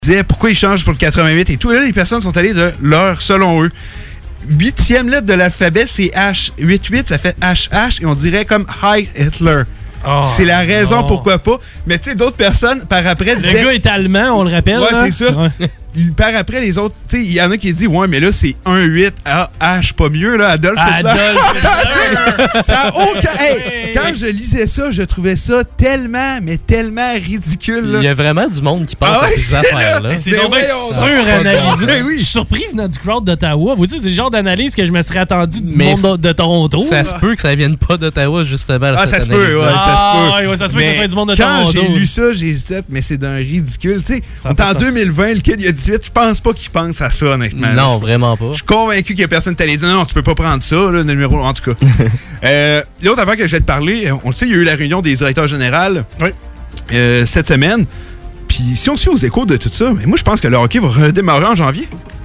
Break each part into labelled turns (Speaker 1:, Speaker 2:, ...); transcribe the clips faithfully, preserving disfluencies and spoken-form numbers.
Speaker 1: disaient pourquoi ils changent pour le quatre-vingt-huit et tout. Et là, les personnes sont allées de leur, selon eux. Huitième lettre de l'alphabet, c'est H. huit huit, ça fait H H et on dirait comme Heil Hitler. Oh, c'est la raison non. pourquoi pas. Mais tu sais, d'autres personnes, par après, disaient...
Speaker 2: Le gars est allemand, on le rappelle.
Speaker 1: Ouais,
Speaker 2: là.
Speaker 1: c'est ça. Ouais. Par après, les autres, tu sais, il y en a qui disent, ouais, mais là, c'est un huit. Ah, H, pas mieux, là, Adolf Hitler.
Speaker 2: Adolf Hitler.
Speaker 1: Ça a aucun... Hey, quand je lisais ça, je trouvais ça tellement, mais tellement ridicule. Là.
Speaker 3: Il y a vraiment du monde qui pense
Speaker 1: ah,
Speaker 3: à
Speaker 1: ouais,
Speaker 3: ces affaires-là.
Speaker 2: C'est donc bien suranalysé. Ah, oui. Je suis surpris venant du crowd d'Ottawa. Vous savez, c'est le genre d'analyse que je me serais attendu du mais monde de, de Toronto.
Speaker 3: Ça là. se peut que ça vienne pas d'Ottawa, justement.
Speaker 1: Ah, ça se, peut, ouais,
Speaker 2: ah,
Speaker 1: ça se peut,
Speaker 2: ouais, ça se peut. Que ça soit du monde de Toronto.
Speaker 1: Quand j'ai lu ça, j'ai dit, mais c'est d'un ridicule. Tu sais, on est en deux mille vingt, le kid, il y a dix-huit, je pense pas qu'il pense à ça, honnêtement.
Speaker 3: Non, vraiment pas.
Speaker 1: Je suis convaincu qu'il y a personne qui t'a dit, non, non, tu peux pas prendre ça, là, le numéro, en tout cas. euh, L'autre affaire que je vais te parler, on le sait, il y a eu la réunion des directeurs généraux
Speaker 2: oui.
Speaker 1: euh, cette semaine. Puis si on suit aux échos de tout ça, mais moi, je pense que le hockey va redémarrer en janvier.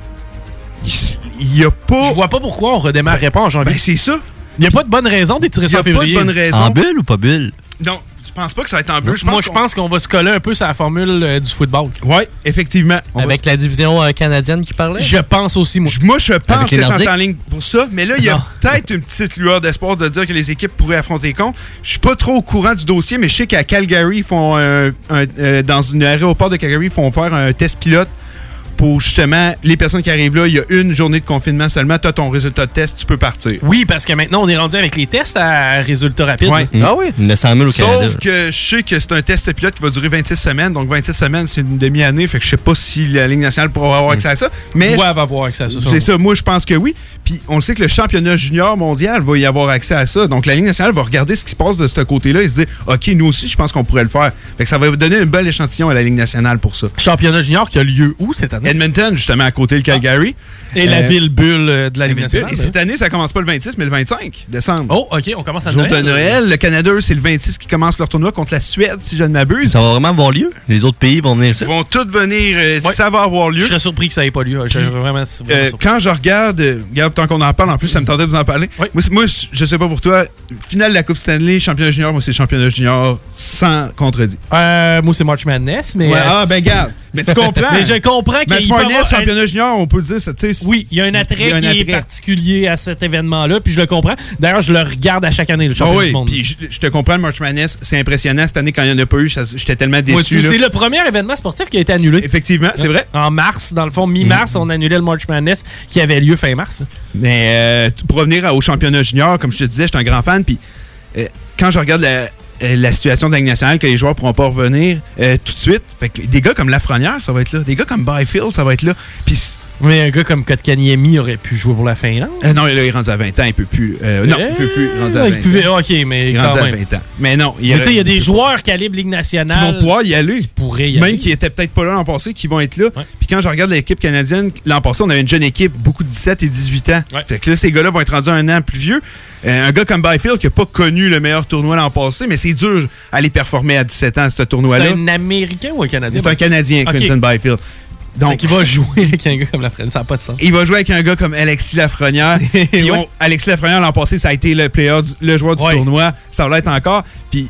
Speaker 1: Il n'y a pas...
Speaker 2: Je vois pas pourquoi on redémarrerait pas en janvier.
Speaker 1: Ben, c'est ça.
Speaker 2: Il n'y a pas de bonne raison d'étirer ça en février.
Speaker 1: Il n'y a pas de bonne raison.
Speaker 4: En bulle ou pas bulle?
Speaker 1: Non. Je pense pas que ça va être en bulle.
Speaker 2: Je Moi, je pense qu'on va se coller un peu sur la formule euh, du football.
Speaker 1: Oui, effectivement.
Speaker 3: On Avec va... la division euh, canadienne qui parlait?
Speaker 2: Je pense aussi, moi.
Speaker 1: Je, moi, je pense que c'est en ligne pour ça. Mais là, il y a peut-être une petite lueur d'espoir de dire que les équipes pourraient affronter contre. Je suis pas trop au courant du dossier, mais je sais qu'à Calgary, ils font un, un, euh, dans un aéroport de Calgary, ils font faire un test pilote pour justement les personnes qui arrivent là. Il y a une journée de confinement seulement. Tu as ton résultat de test, tu peux partir.
Speaker 2: Oui, parce que maintenant, on est rendu avec les tests à résultat rapide.
Speaker 1: Ouais.
Speaker 3: Mmh. Ah oui?
Speaker 4: neuf cent mille au
Speaker 1: Sauf
Speaker 4: Canada.
Speaker 1: que je sais que c'est un test pilote qui va durer vingt-six semaines. Donc, vingt-six semaines, c'est une demi-année. Fait que je sais pas si la Ligue nationale pourra avoir accès à ça. Mais
Speaker 2: ouais, elle va avoir accès à ça.
Speaker 1: C'est ça. Moi, je pense que oui. Puis, on le sait que le championnat junior mondial va y avoir accès à ça. Donc, la Ligue nationale va regarder ce qui se passe de ce côté-là et se dire, OK, nous aussi, je pense qu'on pourrait le faire. Fait que ça va donner un bel échantillon à la Ligue nationale pour ça.
Speaker 2: Championnat junior qui a lieu où cette année?
Speaker 1: Edmonton, justement, à côté de Calgary.
Speaker 2: Ah. Et euh, la ville bulle de la Ligue nationale.
Speaker 1: Et cette année, ça commence pas le vingt-six, mais le vingt-cinq décembre.
Speaker 2: Oh, OK, on commence à
Speaker 1: Jour
Speaker 2: Noël.
Speaker 1: de Noël. Le Canada, c'est le vingt-six qui commence leur tournoi contre la Suède, si je ne m'abuse.
Speaker 4: Ça va vraiment avoir lieu? Les autres pays vont venir ici?
Speaker 1: Ils vont tous venir. Euh,
Speaker 2: ouais.
Speaker 1: Ça va avoir lieu.
Speaker 2: Je serais surpris que ça n'ait pas lieu. Je,
Speaker 1: Puis,
Speaker 2: vraiment,
Speaker 1: euh, quand je regarde, euh, regarde, tant qu'on en parle, en plus, ça me tentait de vous en parler.
Speaker 2: Oui.
Speaker 1: Moi, moi, je sais pas pour toi, finale de la Coupe Stanley, championnat junior, moi, c'est championnat junior sans contredit.
Speaker 2: Euh, moi, c'est March Madness, mais...
Speaker 1: Ouais,
Speaker 2: euh,
Speaker 1: ah, ben, garde. Mais tu comprends.
Speaker 2: Mais je comprends qu'il
Speaker 1: March Madness, championnat junior, on peut dire ça, tu sais.
Speaker 2: Oui, il y a un attrait
Speaker 1: y a un
Speaker 2: qui
Speaker 1: attrait.
Speaker 2: est particulier à cet événement-là, puis je le comprends. D'ailleurs, je le regarde à chaque année, le championnat
Speaker 1: oh oui,
Speaker 2: du monde.
Speaker 1: Puis je, je te comprends, le March Madness, c'est impressionnant. Cette année, quand il n'y en a pas eu, j'étais tellement déçu.
Speaker 2: C'est le premier événement sportif qui a été annulé.
Speaker 1: Effectivement, c'est vrai.
Speaker 2: En mars, dans le fond, mi-mars, mm. on annulait le March Madness qui avait lieu fin mars.
Speaker 1: Mais euh, pour revenir au championnat junior, comme je te disais, je suis un grand fan. Puis euh, quand je regarde la, euh, la situation de la Ligue nationale, que les joueurs ne pourront pas revenir euh, tout de suite, fait que des gars comme Lafrenière, ça va être là. Des gars comme Byfield, ça va être là. Puis
Speaker 2: mais un gars comme Kotkaniemi aurait pu jouer pour la Finlande.
Speaker 1: Euh, non, là, il est rendu à vingt ans, il peut plus. Euh, non,
Speaker 2: euh,
Speaker 1: il peut plus. Rendu à vingt
Speaker 2: pouvait,
Speaker 1: ans.
Speaker 2: OK, mais
Speaker 1: il est
Speaker 2: quand
Speaker 1: rendu
Speaker 2: même.
Speaker 1: à vingt ans. Mais non,
Speaker 2: il y a des joueurs calibre Ligue nationale
Speaker 1: qui vont pouvoir y aller.
Speaker 2: Qui pourraient y
Speaker 1: Même
Speaker 2: aller.
Speaker 1: qui n'étaient peut-être pas là l'an passé, qui vont être là.
Speaker 2: Ouais.
Speaker 1: Puis quand je regarde l'équipe canadienne, l'an passé, on avait une jeune équipe, beaucoup de dix-sept et dix-huit ans.
Speaker 2: Ouais.
Speaker 1: Fait que là, ces gars-là vont être rendus un an plus vieux. Euh, un gars comme Byfield qui n'a pas connu le meilleur tournoi l'an passé, mais c'est dur d'aller performer à dix-sept ans à ce tournoi-là.
Speaker 2: C'est un Américain ou un Canadien?
Speaker 1: C'est un Canadien,
Speaker 2: okay.
Speaker 1: Quentin Byfield. Donc,
Speaker 2: il va jouer avec un gars comme Lafrenière, ça n'a pas de sens.
Speaker 1: Il va jouer avec un gars comme Alexis Lafrenière. Puis ouais. Alexis Lafrenière, l'an passé, ça a été le, player du, le joueur du ouais. tournoi. Ça va l'être encore. Puis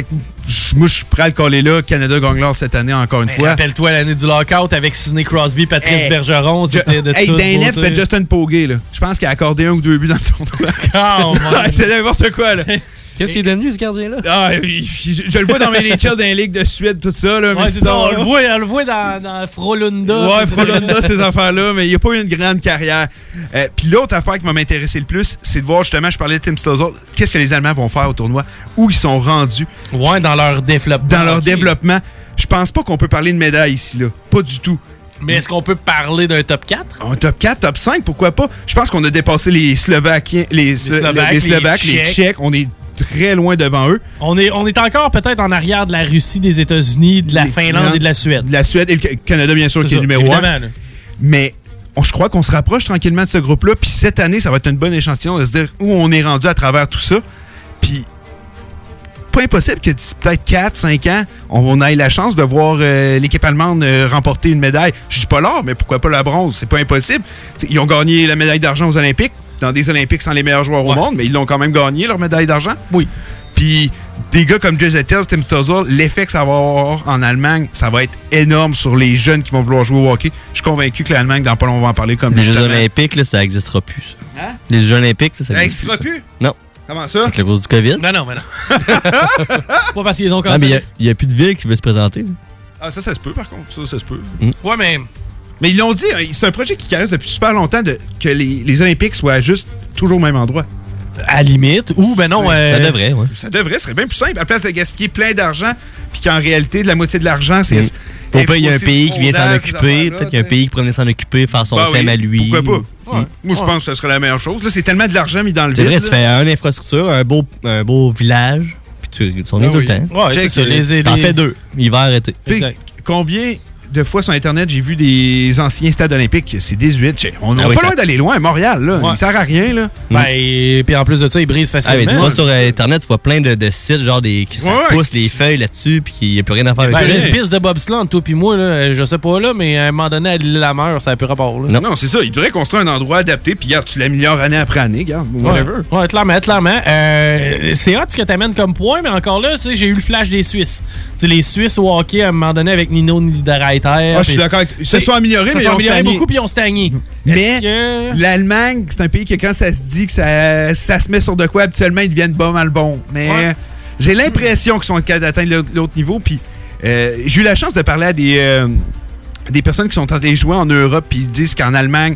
Speaker 1: moi, je suis prêt à le coller là. Canada gagne l'or cette année, encore une
Speaker 2: mais
Speaker 1: fois.
Speaker 2: Rappelle-toi l'année du lockout avec Sidney Crosby, Patrice hey, Bergeron. C'était de
Speaker 1: hey,
Speaker 2: tout.
Speaker 1: Hey, Danet, c'était Justin Pogge. Je pense qu'il a accordé un ou deux buts dans le tournoi.
Speaker 2: Oh,
Speaker 1: c'est n'importe quoi, là.
Speaker 3: Qu'est-ce qu'il est devenu, ce gardien-là?
Speaker 1: Ah, je, je le vois dans mes Natures dans les ligues de Suède, tout ça. Là,
Speaker 2: ouais,
Speaker 1: mais
Speaker 2: c'est ça, on, le voit, on le voit dans, dans Frolunda.
Speaker 1: Ouais, Frolunda, ces affaires-là, mais il n'a pas eu une grande carrière. Euh, Puis l'autre affaire qui va m'intéresser le plus, c'est de voir justement, je parlais de Tim Stosur, qu'est-ce que les Allemands vont faire au tournoi, où ils sont rendus.
Speaker 2: Ouais, dans leur développement.
Speaker 1: Dans leur okay. développement. Je pense pas qu'on peut parler de médaille ici, là. Pas du tout.
Speaker 2: Mais est-ce qu'on peut parler d'un top quatre?
Speaker 1: Un top quatre, top cinq, pourquoi pas? Je pense qu'on a dépassé les Slovaquiens, les, les Slovaques, les, Slovaques, les, les Tchèques. Tchèques. On est très loin devant eux.
Speaker 2: On est, on est encore peut-être en arrière de la Russie, des États-Unis, de la les Finlande Finlande, et de la Suède.
Speaker 1: De la Suède et le Canada, bien sûr, qui ça, est numéro un. Là. Mais on, je crois qu'on se rapproche tranquillement de ce groupe-là. Puis cette année, ça va être une bonne échantillon de se dire où on est rendu à travers tout ça. Puis pas impossible que d'ici peut-être quatre cinq ans, on ait la chance de voir euh, l'équipe allemande euh, remporter une médaille. Je dis pas l'or, mais pourquoi pas la bronze? C'est pas impossible. T'sais, ils ont gagné la médaille d'argent aux Olympiques, dans des Olympiques sans les meilleurs joueurs ouais. au monde, mais ils l'ont quand même gagné, leur médaille d'argent.
Speaker 2: Oui.
Speaker 1: Puis des gars comme Jay Zettel, Tim Stützle, l'effet que ça va avoir en Allemagne, ça va être énorme sur les jeunes qui vont vouloir jouer au hockey. Je suis convaincu que l'Allemagne, dans pas longtemps, on va en parler comme
Speaker 4: les Jeux olympiques, là, ça n'existera plus. Ça. Hein? Les Jeux olympiques, ça, ça
Speaker 1: n'existera plus?
Speaker 4: Non.
Speaker 1: Comment ça?
Speaker 4: Avec la cause du COVID?
Speaker 2: Non, non, mais non. Pas parce qu'ils ont commencé.
Speaker 4: Ah, mais il n'y a, a plus de ville qui veut se présenter. Là.
Speaker 1: Ah, ça, ça se peut, par contre. Ça, ça se peut.
Speaker 2: Mm. Ouais, mais...
Speaker 1: Mais ils l'ont dit, c'est un projet qui caresse depuis super longtemps de, que les, les Olympiques soient juste toujours au même endroit.
Speaker 2: À la limite. Ou, ben non... Euh...
Speaker 4: Ça devrait, oui.
Speaker 1: Ça devrait, ce serait bien plus simple. À la place de gaspiller plein d'argent, puis qu'en réalité, de la moitié de l'argent, c'est... Mm.
Speaker 4: Pourquoi il y a un pays qui vient s'en occuper, peut-être qu'il y a un pays qui pourrait venir s'en occuper, faire son bah thème oui, à lui.
Speaker 1: Pourquoi pas? Ouais. Moi, je ouais. pense que ce serait la meilleure chose. Là, c'est tellement de l'argent mis dans le
Speaker 4: vide. C'est vrai,
Speaker 1: là.
Speaker 4: tu fais une infrastructure, un beau, un beau village, puis tu s'en viens ah, tout oui. le temps.
Speaker 2: Ouais, c'est ça, les,
Speaker 4: T'en les... fais deux, hiver, été.
Speaker 1: Tu sais, combien de fois sur Internet, j'ai vu des anciens stades olympiques, c'est dix-huit. On n'a ah oui, pas ça... loin d'aller loin, Montréal, là. Ouais. Il sert à rien, là.
Speaker 2: Ben, et puis en plus de ça, ils brisent facilement.
Speaker 4: Ah, mais tu vois, sur Internet, tu vois plein de, de sites, genre, des, qui ouais, poussent les feuilles là-dessus, puis il n'y a plus rien à faire avec
Speaker 2: ça.
Speaker 4: Ben,
Speaker 2: une piste de bobsleigh entre toi et moi, là, je sais pas, là, mais à un moment donné, à l'île-la-Mer, ça n'a plus rapport, là.
Speaker 1: Non, non c'est ça. Il devrait construire un endroit adapté, puis regarde, tu l'améliores année après année, regarde, whatever.
Speaker 2: Ouais, ouais clairement, clairement. Euh, c'est hot ce que tu amènes comme point, mais encore là, tu sais, j'ai eu le flash des Suisses. Tu sais, les Suisses au hockey, à un moment donné, avec Nino Niederreiter.
Speaker 1: Ah, je suis d'accord. Ils se sont améliorés, mais ils ont
Speaker 2: amélioré beaucoup, puis ils ont stagné.
Speaker 1: Mais que... l'Allemagne, c'est un pays que quand ça se dit que ça, ça se met sur de quoi, habituellement, ils deviennent pas mal bons. Mais ouais. j'ai l'impression qu'ils sont capables d'atteindre l'autre niveau. Puis euh, j'ai eu la chance de parler à des, euh, des personnes qui sont en train de jouer en Europe, puis ils disent qu'en Allemagne,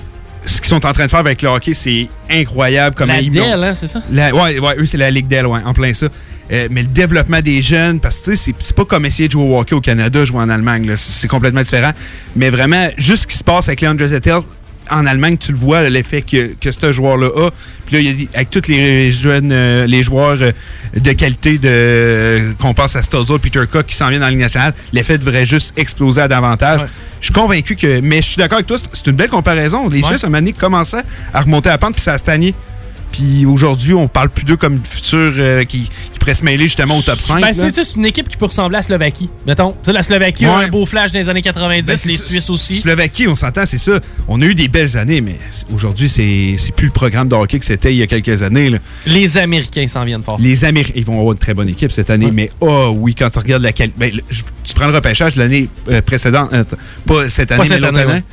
Speaker 1: ce qu'ils sont en train de faire avec le hockey, c'est incroyable. Comme
Speaker 2: la D E L, hein, c'est ça?
Speaker 1: La, ouais, ouais, eux, c'est la Ligue D E L, ouais, en plein ça. Euh, mais le développement des jeunes, parce que c'est, c'est pas comme essayer de jouer au hockey au Canada, jouer en Allemagne, là, c'est, c'est complètement différent. Mais vraiment, juste ce qui se passe avec Leandro Zettel, en Allemagne, tu le vois, là, l'effet que, que ce joueur-là a. Puis là, il y a, avec tous les jeunes, euh, les joueurs euh, de qualité de, euh, qu'on pense à Stützle, Peter Cook qui s'en viennent dans la Ligue nationale, l'effet devrait juste exploser à davantage. Ouais. Je suis convaincu que... Mais je suis d'accord avec toi, c'est, c'est une belle comparaison. Les ouais. Suisses, à un moment donné, commençaient à remonter à la pente, puis ça a stagné. Puis aujourd'hui, on parle plus d'eux comme futur euh, qui, qui pourrait se mêler justement au top cinq.
Speaker 2: Ben, c'est, c'est une équipe qui peut ressembler à la Slovaquie. Mettons, tu sais, la Slovaquie ouais. a un beau flash dans les années quatre-vingt-dix, ben, les Suisses aussi.
Speaker 1: Slovaquie, on s'entend, c'est ça. On a eu des belles années, mais aujourd'hui, c'est, c'est plus le programme de hockey que c'était il y a quelques années. Là.
Speaker 2: Les Américains s'en viennent fort.
Speaker 1: Les Américains, ils vont avoir une très bonne équipe cette année, ouais. mais oh oui, quand tu regardes la qualité. Ben, tu prends le repêchage de l'année euh, précédente, euh, pas cette année, pas cette mais l'autre année. année.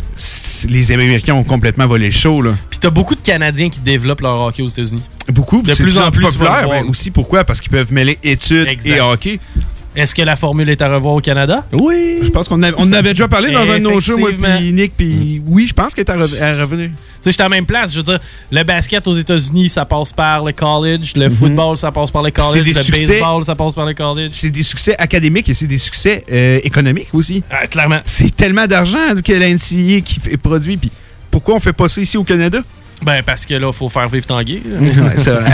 Speaker 1: Les Américains ont complètement volé le show. Là.
Speaker 2: Puis t'as beaucoup de Canadiens qui développent leur hockey aux États-Unis.
Speaker 1: Beaucoup. De plus en plus populaire. Mais aussi pourquoi? Parce qu'ils peuvent mêler études exact. Et hockey.
Speaker 2: Est-ce que la formule est à revoir au Canada?
Speaker 1: Oui. Je pense qu'on avait, on en avait déjà parlé dans un de nos shows, moi puis Nick, puis oui, je pense qu'elle est à, re- à revenir.
Speaker 2: Tu sais, j'étais à la même place. Je veux dire, le basket aux États-Unis, ça passe par le college. Le mm-hmm. football, ça passe par le college. Le succès, baseball, ça passe par le college. C'est des succès académiques et c'est des succès euh, économiques aussi. Ah, clairement.
Speaker 1: C'est tellement d'argent que la N C A A qui fait produit. Puis pourquoi on fait pas ça ici au Canada?
Speaker 2: Ben, parce que là, il faut faire vivre Tanguay.
Speaker 1: Ouais, c'est vrai.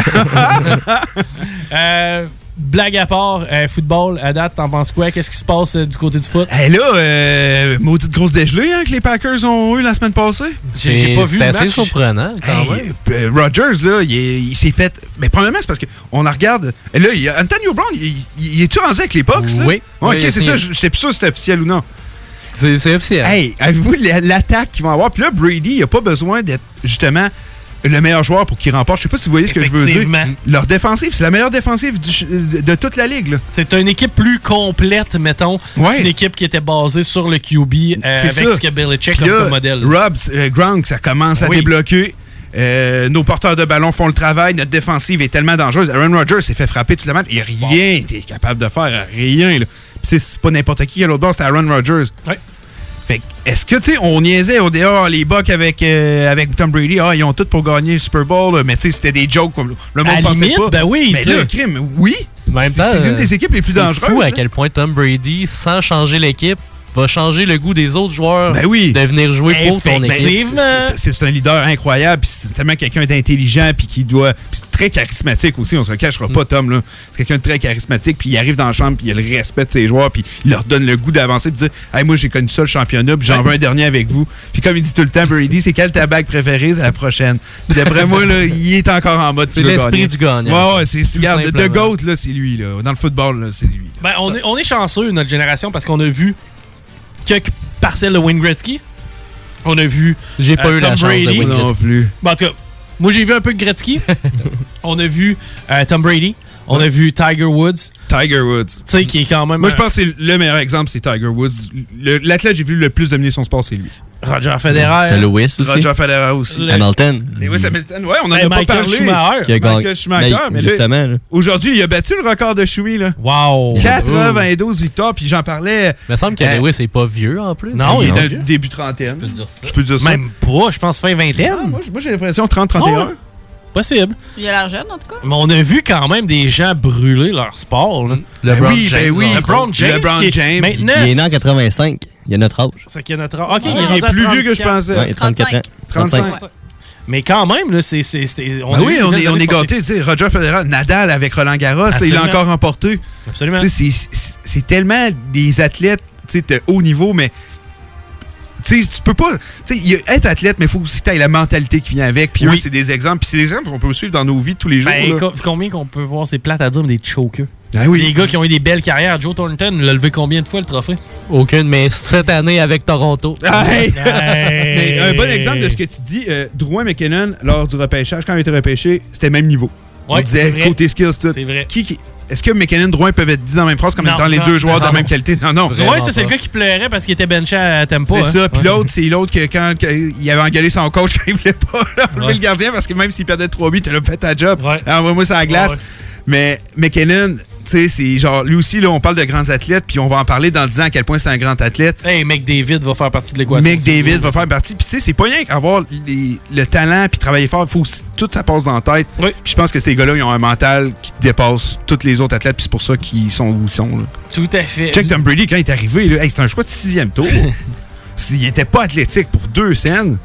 Speaker 2: euh... Blague à part, euh, football, à date, t'en penses quoi? Qu'est-ce qui se passe euh, du côté du foot?
Speaker 1: Hey là, euh, maudite grosse dégelée hein, que les Packers ont eu la semaine passée.
Speaker 3: J'ai, j'ai pas vu le match. C'est assez surprenant, quand
Speaker 1: hey, même. Euh, Rodgers, là, il, est, il s'est fait... Mais premièrement, c'est parce qu'on la regarde... Et là, il, Antonio Brown, il, il, il est-tu rendu avec les Bucks?
Speaker 3: Oui.
Speaker 1: Ouais,
Speaker 3: oui,
Speaker 1: OK, c'est ça. J'étais plus sûr si c'était officiel ou non.
Speaker 3: C'est, c'est officiel.
Speaker 1: Hey, avez-vous l'attaque qu'ils vont avoir? Puis là, Brady, il a pas besoin d'être, justement... le meilleur joueur pour qu'il remporte. Je sais pas si vous voyez ce que je veux dire. Leur défensive, c'est la meilleure défensive du, de, de toute la ligue. Là.
Speaker 2: C'est une équipe plus complète, mettons. Ouais. Une équipe qui était basée sur le Q B euh, avec ça. Ce que Belichick a comme modèle.
Speaker 1: Rob, euh, Gronk, ça commence à oui. débloquer. Euh, nos porteurs de ballon font le travail. Notre défensive est tellement dangereuse. Aaron Rodgers s'est fait frapper toute la match. Et rien n'était bon. capable de faire. Rien. Là. C'est, c'est pas n'importe qui à l'autre bord, c'était Aaron Rodgers.
Speaker 2: Ouais.
Speaker 1: Fait est-ce que, tu sais, on niaisait au dehors les Bucks avec, euh, avec Tom Brady, ah, ils ont tout pour gagner le Super Bowl, là, mais tu sais, c'était des jokes, comme le monde
Speaker 2: à
Speaker 1: pensait
Speaker 2: limite,
Speaker 1: pas.
Speaker 2: Ben oui,
Speaker 1: mais là, crime, oui.
Speaker 3: Même
Speaker 1: c'est,
Speaker 3: temps,
Speaker 1: c'est une des équipes les plus
Speaker 3: c'est
Speaker 1: dangereuses.
Speaker 3: C'est fou à quel point Tom Brady, sans changer l'équipe, va changer le goût des autres joueurs
Speaker 1: ben oui.
Speaker 3: de venir jouer pour ton équipe.
Speaker 1: C'est, c'est, c'est un leader incroyable, puis c'est tellement quelqu'un d'intelligent, puis qui doit... Puis très charismatique aussi, on se le cachera mm. pas, Tom, là. C'est quelqu'un de très charismatique, puis il arrive dans la chambre, puis il a le respect de ses joueurs, puis il leur donne le goût d'avancer, puis dire « Hey, moi, j'ai connu ça, le championnat, puis j'en veux un dernier avec vous. » Puis comme il dit tout le temps, Brady, c'est quelle ta bague préférée? C'est la prochaine. Puis d'après moi, là, il est encore en mode...
Speaker 3: C'est l'esprit gagner. Du gagnant.
Speaker 1: Ouais, ouais, c'est... Regarde, de GOAT, là, c'est lui, là. Dans le football, là, c'est lui.
Speaker 2: Ben, on est, on est chanceux, notre génération, parce qu'on a vu quelques parcelles de Wayne Gretzky. On a vu
Speaker 3: J'ai pas
Speaker 2: euh,
Speaker 3: eu
Speaker 2: Tom
Speaker 3: la chance
Speaker 2: Brady.
Speaker 3: de Wayne Gretzky.
Speaker 1: Non plus.
Speaker 2: Bon, en tout cas, moi, j'ai vu un peu de Gretzky. On a vu euh, Tom Brady. On a vu Tiger Woods.
Speaker 1: Tiger Woods. Tu
Speaker 2: sais, qui est quand même...
Speaker 1: Moi, je pense que c'est le meilleur exemple, c'est Tiger Woods. Le, l'athlète que j'ai vu le plus dominer son sport, c'est lui.
Speaker 2: Roger Federer.
Speaker 4: T'as Lewis aussi.
Speaker 1: Roger Federer aussi.
Speaker 4: Le... Hamilton.
Speaker 1: Lewis Hamilton. Ouais, on en
Speaker 2: hey,
Speaker 1: a
Speaker 2: Michael
Speaker 1: pas parlé.
Speaker 2: Schumacher.
Speaker 4: Qui a
Speaker 1: Michael Schumacher.
Speaker 4: Mais, mais justement. Là,
Speaker 1: aujourd'hui, il a battu le record de Schumi. Là.
Speaker 2: Wow.
Speaker 1: quatre-vingt-douze victoires. Puis j'en parlais.
Speaker 3: Il me semble que euh, Lewis n'est pas vieux en plus.
Speaker 1: Non, il est début trentaine.
Speaker 4: Je peux dire ça.
Speaker 1: Je peux dire ça.
Speaker 2: Même pas. Je pense fin vingtaine.
Speaker 1: Ah, moi, moi j'ai l'impression trente trente et un.
Speaker 2: Oh. Possible.
Speaker 5: Il a l'air jeune, en tout cas.
Speaker 2: Mais on a vu quand même des gens brûler leur sport. Là.
Speaker 1: LeBron ben oui, James. Ben oui.
Speaker 2: LeBron James.
Speaker 1: LeBron James.
Speaker 2: Maintenant,
Speaker 4: il est né en quatre-vingt-cinq. Il a notre âge.
Speaker 2: C'est qu'il a notre âge. OK,
Speaker 1: ah,
Speaker 2: il est,
Speaker 1: il est plus vieux que je pensais.
Speaker 4: Ouais, trente-quatre ans.
Speaker 1: trente-cinq.
Speaker 2: Ouais. Mais quand même, là, c'est. c'est, c'est on
Speaker 1: ben oui, on est, on est gâtés. Roger Federer, Nadal avec Roland Garros, là, il a encore remporté.
Speaker 2: Absolument.
Speaker 1: C'est, c'est, c'est tellement des athlètes de haut niveau, mais. Tu sais, tu peux pas. Tu sais, être athlète, mais il faut aussi que tu aies la mentalité qui vient avec. Puis oui. eux, c'est des exemples. Puis c'est des exemples qu'on peut suivre dans nos vies tous les jours.
Speaker 2: Ben,
Speaker 1: là.
Speaker 2: Combien qu'on peut voir, c'est plate à dire, mais des chokers.
Speaker 1: Ben oui.
Speaker 2: Les gars qui ont eu des belles carrières. Joe Thornton l'a levé combien de fois le trophée?
Speaker 3: Aucune, mais cette année avec Toronto.
Speaker 1: Hey. Hey. Mais un bon exemple de ce que tu dis, euh, Drouin McKinnon, lors du repêchage, quand il a été repêché, c'était même niveau. Ouais, on disait côté skills, tout.
Speaker 2: C'est vrai.
Speaker 1: Qui, qui, est-ce que McKinnon et Drouin peuvent être dit dans la même phrase comme étant les deux joueurs non, de la même qualité? Non, non.
Speaker 2: Drouin, ça, c'est le gars qui pleurait parce qu'il était benché à tempo.
Speaker 1: C'est
Speaker 2: hein?
Speaker 1: ça. Puis
Speaker 2: ouais.
Speaker 1: l'autre, c'est l'autre que quand que, il avait engueulé son coach quand il voulait pas enlever ouais. le gardien parce que même s'il perdait trois buts, il a fait ta job. Ouais. Envoie-moi ça à la glace. Ouais, ouais. Mais McKinnon, tu sais, c'est genre, lui aussi, là, on parle de grands athlètes, puis on va en parler dans dix ans à quel point c'est un grand athlète.
Speaker 2: Hey, McDavid va faire partie de l'équation.
Speaker 1: McDavid va faire partie. Puis, tu sais, c'est pas rien qu'avoir les, le talent puis travailler fort. Faut aussi, tout ça passe dans la tête. Oui. Puis, je pense que ces gars-là, ils ont un mental qui dépasse tous les autres athlètes, puis c'est pour ça qu'ils sont où ils sont. Là.
Speaker 2: Tout à fait.
Speaker 1: Check Tom Brady, quand il est arrivé, là, hey, c'était un choix de sixième tour. Il était pas athlétique pour deux scènes.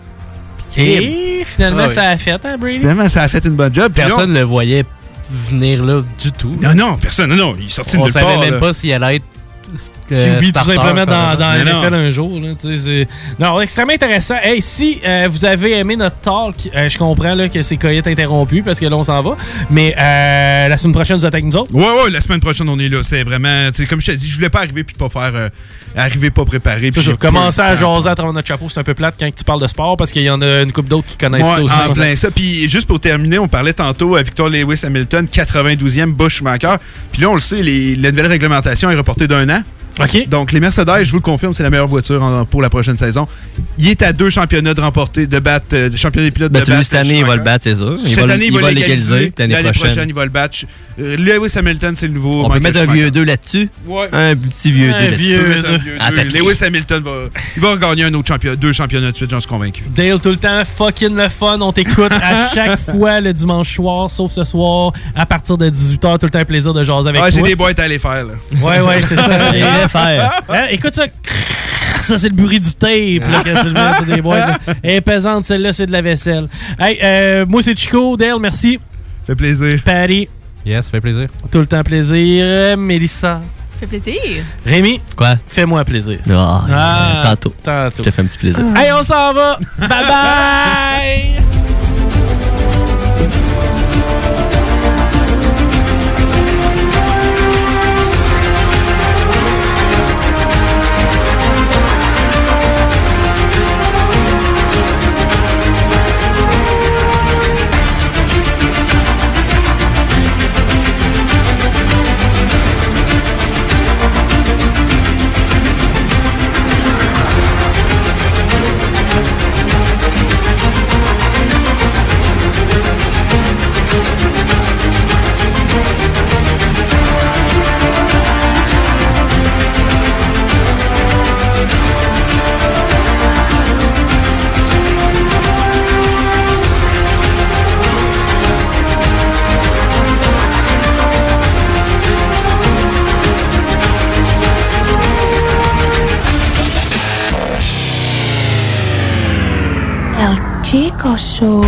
Speaker 2: Et finalement, ah, oui. ça a fait, hein, Brady?
Speaker 1: Finalement, ça a fait une bonne job.
Speaker 3: Personne ne le voyait venir là du tout.
Speaker 1: Non, non, personne. Non, non, il est sorti de nulle part.
Speaker 3: On savait même
Speaker 1: là.
Speaker 3: pas s'il allait être
Speaker 2: Euh, Q B tout simplement dans, dans la N F L un jour. Là, c'est... Non, extrêmement intéressant. Hey, si euh, vous avez aimé notre talk, euh, je comprends là, que c'est coyote interrompu parce que là, on s'en va. Mais euh, la semaine prochaine, vous êtes avec nous autres?
Speaker 1: Ouais, ouais, la semaine prochaine, on est là. C'est vraiment... Comme je t'ai dit, je voulais pas arriver puis pas faire... Euh, arriver pas préparé.
Speaker 2: Puis commencer à jaser à travers notre chapeau, c'est un peu plate quand tu parles de sport parce qu'il y en a une couple d'autres qui connaissent
Speaker 1: ouais,
Speaker 2: ça aussi.
Speaker 1: En plein ça. Puis juste pour terminer, on parlait tantôt à Victor Lewis Hamilton, quatre-vingt-douzième Busch Schumacher. Puis là, on le sait, les, la nouvelle réglementation est reportée d'un an.
Speaker 2: Okay.
Speaker 1: Donc, les Mercedes, je vous le confirme, c'est la meilleure voiture en, pour la prochaine saison. Il est à deux championnats de remporter, de battre, euh, championnat des pilotes
Speaker 4: ben,
Speaker 1: de battre.
Speaker 4: Cette année, il va le battre, c'est sûr.
Speaker 1: Cette
Speaker 4: il
Speaker 1: année, il va,
Speaker 4: va
Speaker 1: l'égaliser.
Speaker 4: L'année, l'année prochaine.
Speaker 1: prochaine, il va le battre. Euh, Lewis Hamilton, c'est le nouveau.
Speaker 4: On Michael peut mettre Schumacher. Un vieux deux là-dessus.
Speaker 1: Ouais.
Speaker 4: Un petit vieux
Speaker 2: un
Speaker 4: deux là-dessus.
Speaker 2: Vieux
Speaker 1: deux. Ah, Lewis Hamilton va, il va regagner un autre championnat, deux championnats de suite, j'en suis convaincu.
Speaker 2: Dale, tout le temps, fucking le fun. On t'écoute à chaque fois le dimanche soir, sauf ce soir, à partir de dix-huit heures. Tout le temps un plaisir de jaser avec
Speaker 1: ah,
Speaker 2: toi.
Speaker 1: J'ai des boîtes à aller faire. Là.
Speaker 2: Ouais, ouais, c'est ça.
Speaker 4: Il va faire.
Speaker 2: Hein, écoute ça. Ça, c'est le bruit du tape. Là, que c'est, c'est des boîtes. Elle est pesante, celle-là, c'est de la vaisselle. Hey, euh, moi, c'est Chico. Dale, merci.
Speaker 1: Fait plaisir.
Speaker 2: Patty.
Speaker 3: Yes, fait plaisir.
Speaker 2: Tout le temps plaisir. Mélissa.
Speaker 5: Fait plaisir.
Speaker 2: Rémi.
Speaker 4: Quoi?
Speaker 2: Fais-moi plaisir.
Speaker 4: Oh, ah, tantôt.
Speaker 2: Tantôt.
Speaker 4: Je te fais un petit plaisir.
Speaker 2: Hey, on s'en va. Bye bye.
Speaker 6: Chico Show.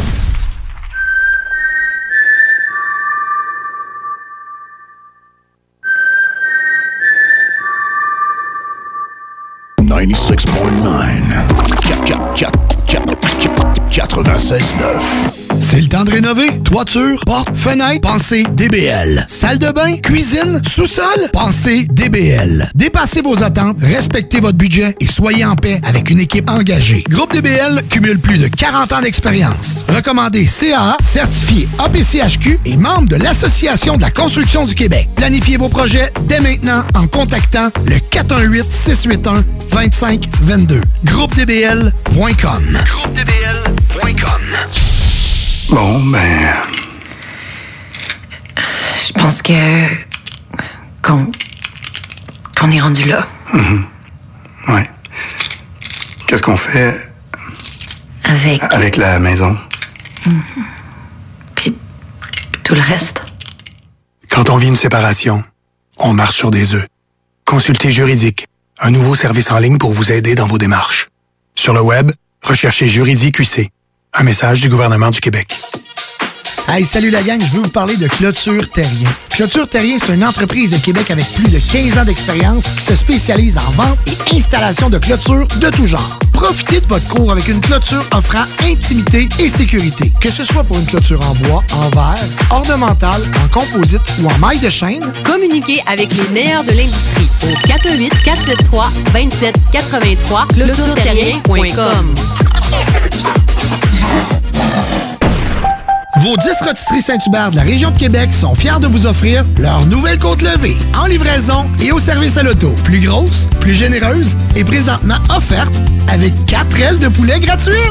Speaker 7: ninety-six point nine. quatre-vingt-seize neuf.
Speaker 5: C'est le temps de rénover. Toiture, porte, fenêtre, pensez D B L. Salle de bain, cuisine, sous-sol, pensez D B L. Dépassez vos attentes, respectez votre budget et soyez en paix avec une équipe engagée. Groupe D B L cumule plus de quarante ans d'expérience. Recommandé C A A, certifié A P C H Q et membre de l'Association de la construction du Québec. Planifiez vos projets dès maintenant en contactant le quatre un huit, six huit un, deux cinq deux deux. groupe d b l point com. groupe d b l point com.
Speaker 7: Bon, ben...
Speaker 8: Je pense que... qu'on... qu'on est rendu là.
Speaker 7: Mm-hmm. Ouais. Qu'est-ce qu'on fait...
Speaker 8: Avec...
Speaker 7: Avec la maison?
Speaker 8: Mm-hmm. Puis tout le reste.
Speaker 7: Quand on vit une séparation, on marche sur des œufs. Consultez Juridique, un nouveau service en ligne pour vous aider dans vos démarches. Sur le web, recherchez Juridique Q C. Un message du gouvernement du Québec.
Speaker 5: Hey, salut la gang, je veux vous parler de Clôture Terrien. Clôture Terrien, c'est une entreprise de Québec avec plus de quinze ans d'expérience qui se spécialise en vente et installation de clôtures de tout genre. Profitez de votre cour avec une clôture offrant intimité et sécurité. Que ce soit pour une clôture en bois, en verre, ornementale, en composite ou en maille de chaîne,
Speaker 9: communiquez avec les meilleurs de l'industrie au quatre un huit, quatre sept trois, deux sept huit trois clôture terrien point com.
Speaker 5: Vos dix rôtisseries Saint-Hubert de la région de Québec sont fiers de vous offrir leur nouvelle côte levée en livraison et au service à l'auto. Plus grosse, plus généreuse et présentement offerte avec quatre ailes de poulet gratuites.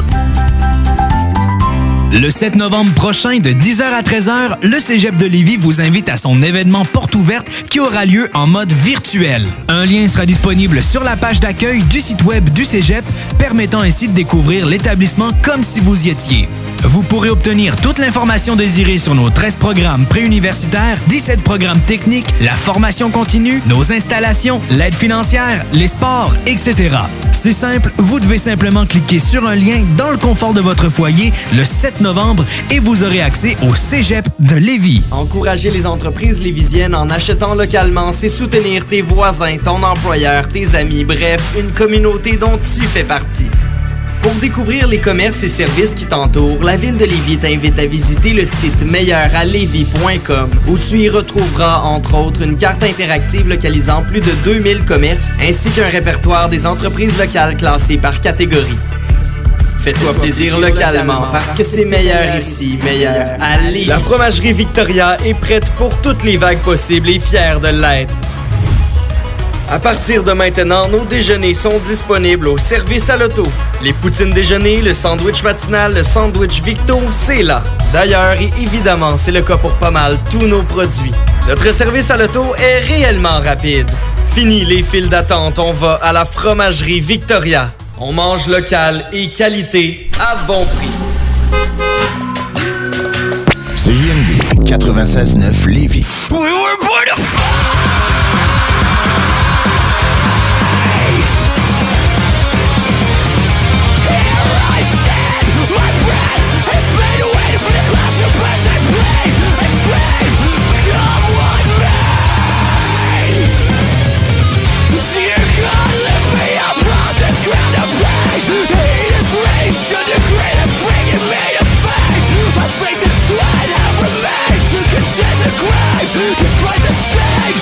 Speaker 10: Le sept novembre prochain, de dix heures à treize heures, le Cégep de Lévis vous invite à son événement Porte ouverte qui aura lieu en mode virtuel. Un lien sera disponible sur la page d'accueil du site web du Cégep, permettant ainsi de découvrir l'établissement comme si vous y étiez. Vous pourrez obtenir toute l'information désirée sur nos treize programmes préuniversitaires, dix-sept programmes techniques, la formation continue, nos installations, l'aide financière, les sports, et cetera. C'est simple, vous devez simplement cliquer sur un lien dans le confort de votre foyer le sept novembre et vous aurez accès au Cégep de Lévis.
Speaker 11: Encourager les entreprises lévisiennes en achetant localement, c'est soutenir tes voisins, ton employeur, tes amis, bref, une communauté dont tu fais partie. Pour découvrir les commerces et services qui t'entourent, la Ville de Lévis t'invite à visiter le site meilleur à lévis point com où tu y retrouveras, entre autres, une carte interactive localisant plus de deux mille commerces ainsi qu'un répertoire des entreprises locales classées par catégorie. Fais-toi plaisir localement parce que c'est meilleur ici, meilleur à Lévis. La fromagerie Victoria est prête pour toutes les vagues possibles et fière de l'être. À partir de maintenant, nos déjeuners sont disponibles au service à l'auto. Les poutines déjeuner, le sandwich matinal, le sandwich Victo, c'est là. D'ailleurs, et évidemment, c'est le cas pour pas mal tous nos produits. Notre service à l'auto est réellement rapide. Fini les files d'attente, on va à la fromagerie Victoria. On mange local et qualité à bon prix.
Speaker 12: C J M D quatre-vingt-seize neuf Lévis.
Speaker 13: We were born to fight! Despite the sting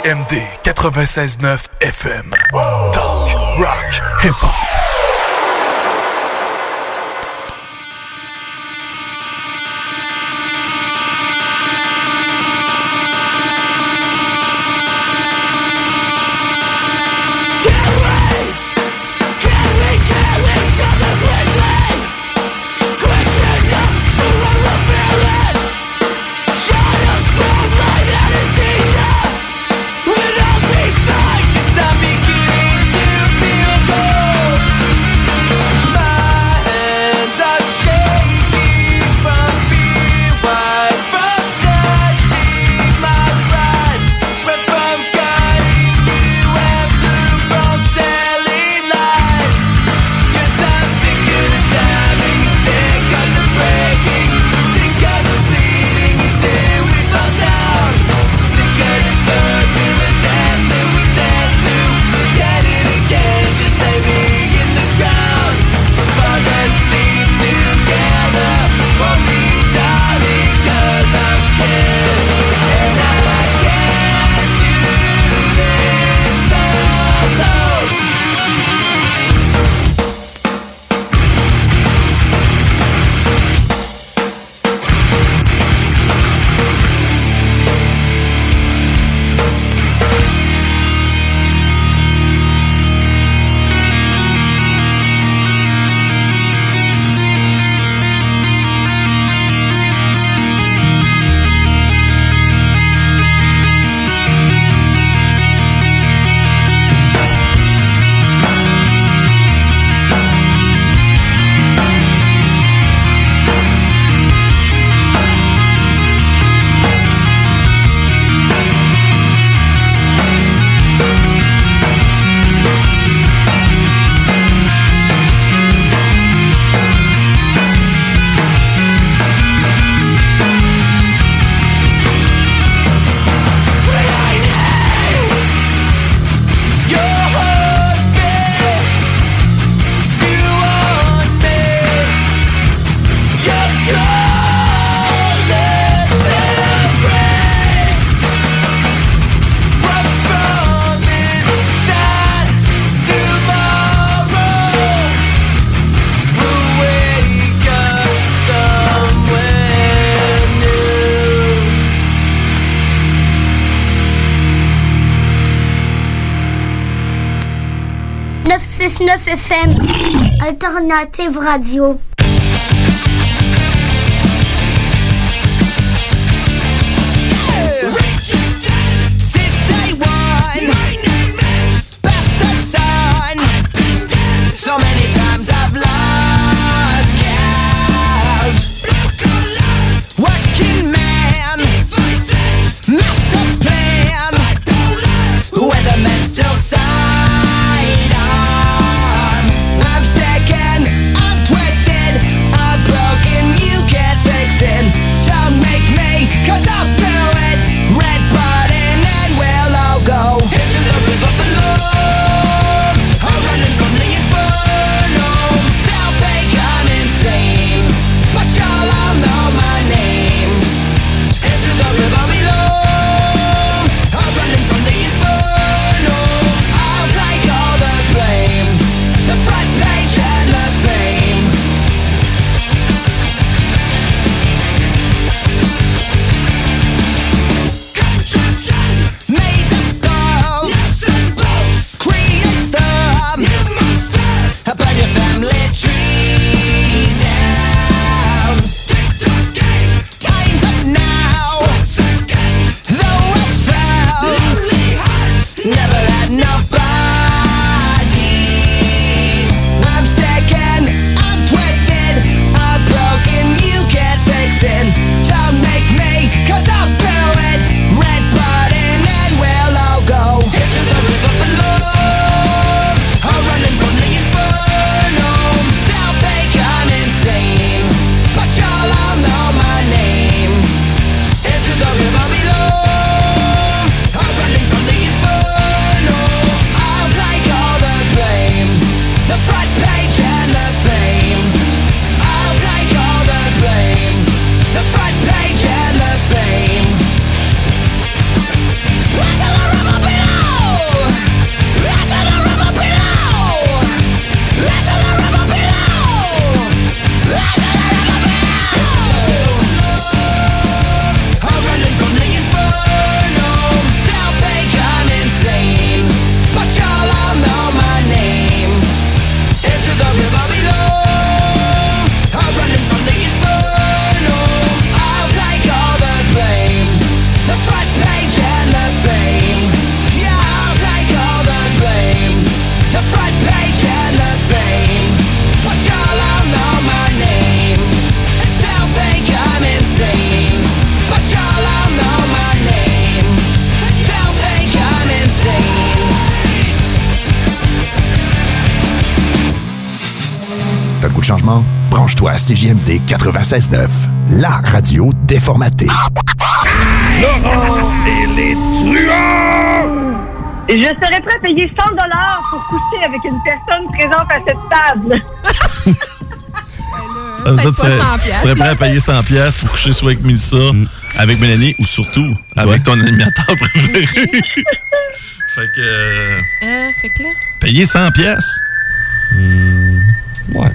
Speaker 13: M D quatre-vingt-seize neuf F M. Talk, rock, hip-hop.
Speaker 14: neuf F M, Alternative Radio.
Speaker 15: So many times I've lost count. Working man, master plan, with a mental side on. I'm second, I'm twisted.
Speaker 12: T'as le goût de changement? Branche-toi à C J M D quatre-vingt-seize neuf, la radio déformatée.
Speaker 15: Laurent et les truands!
Speaker 16: Je serais prêt à payer cent dollars pour coucher avec une personne présente à cette table.
Speaker 17: Ça veut dire que tu serais, serais prêt à payer cent dollars pour coucher soit avec Mélissa, mm. avec Mélanie ou surtout avec ton animateur préféré. Fait que... Euh,
Speaker 18: euh, fait que là...
Speaker 17: Payer cent dollars.
Speaker 4: Mmh, ouais.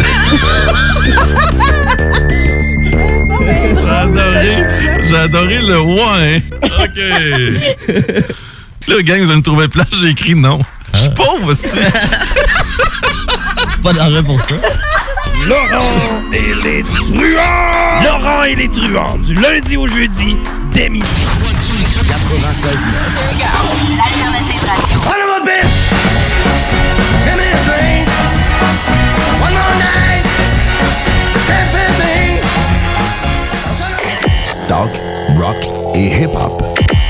Speaker 17: J'ai adoré, j'ai adoré le ouais. OK. Là, gang, vous allez me trouver plate, j'ai écrit non. Je suis pauvre, c'est
Speaker 4: pas d'argent pour ça.
Speaker 15: Laurent et les truands!
Speaker 5: Laurent et les truands, du lundi au jeudi, dès midi.
Speaker 12: quatre-vingt-seize neuf.
Speaker 15: L'alternative radio.
Speaker 5: One more bitch! Give me a drink. One more night. Stay with me.
Speaker 12: Talk, rock et hip-hop.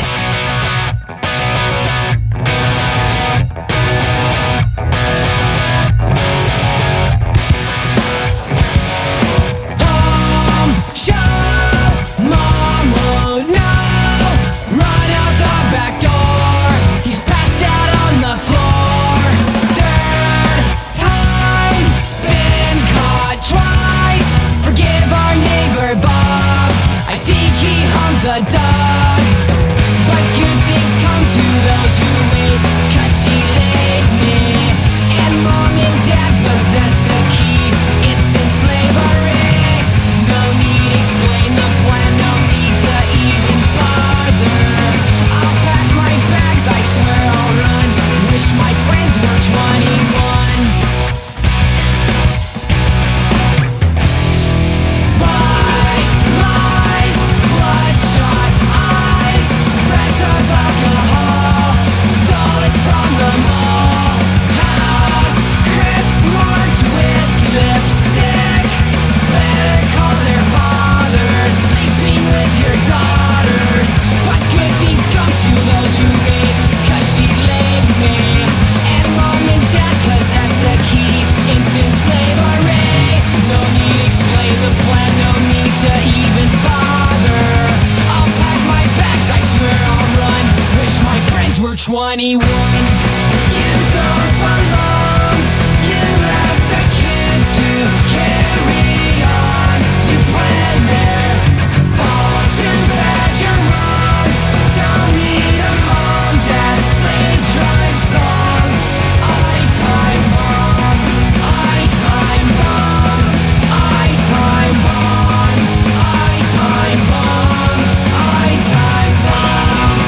Speaker 15: The dog, but good things come to those who wait, 'cause she laid me, and mom and dad possess the key, instant slavery. No need explain the plan, no need to even bother. I'll pack my bags, I swear I'll run, wish my friends were twenty-one. White lies, bloodshot eyes, breath of alcohol, stole it from the mall house, Chris marked with lipstick. Better call their fathers, sleeping with your daughters. But good things come to those who wait, 'cause she laid me, and mom and dad possess the key, instant slavery. No need explain the plan, no need to even bother. I'll pack my bags, I swear I'll run, wish my friends were twenty-one. You don't belong, you left the kids to carry on. You plan there, fall too bad you're wrong. Don't need a mom, dad, slave drive song. I time bomb, I time bomb, I time bomb, I time bomb, I time bomb.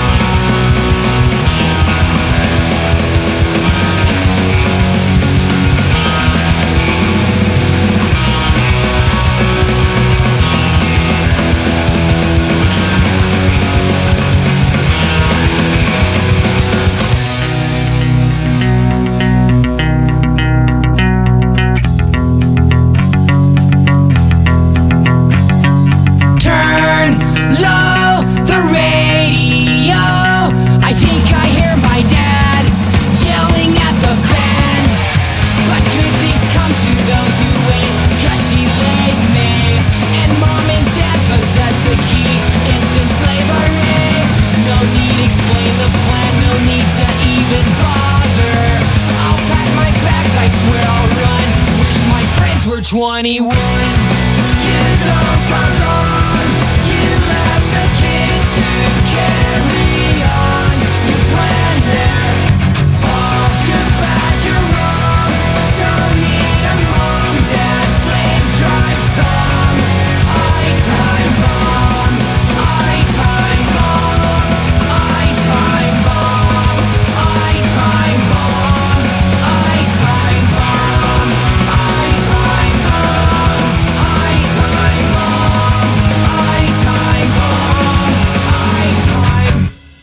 Speaker 15: Turn low the radio. I think I hear my dad yelling at the band. But good things come to those who wait, 'cause she laid me, and mom and dad possess the key, instant slavery. No need explain the plan, no need to even bother. I'll pack my bags, I swear I'll run, wish my friends were twenty-one. You don't belong, you left the kids to carry on. You plan there, fall too bad you're wrong. Don't need a mom, dad, slave drive song. I time bomb, I time bomb, I time bomb, I time bomb, I time bomb, I time bomb, I time bomb, I time bomb, I time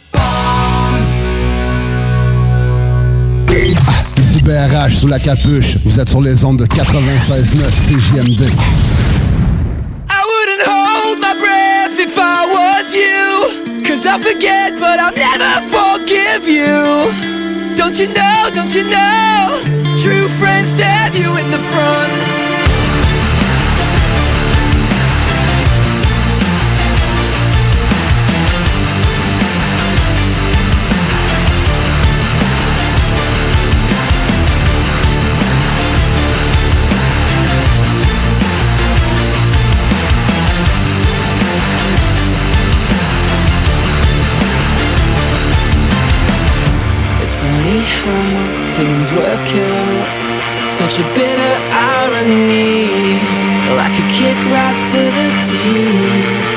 Speaker 15: bomb.
Speaker 19: Ici B R H sous la capuche. Vous êtes sur les ondes de quatre-vingt-seize neuf C J M D.
Speaker 15: I wouldn't hold my breath if I was you, 'cause I'll forget but I'll never forgive you. Don't you know, don't you know, true friends stab you in the front, how things work out. Such a bitter irony, like a kick right to the teeth.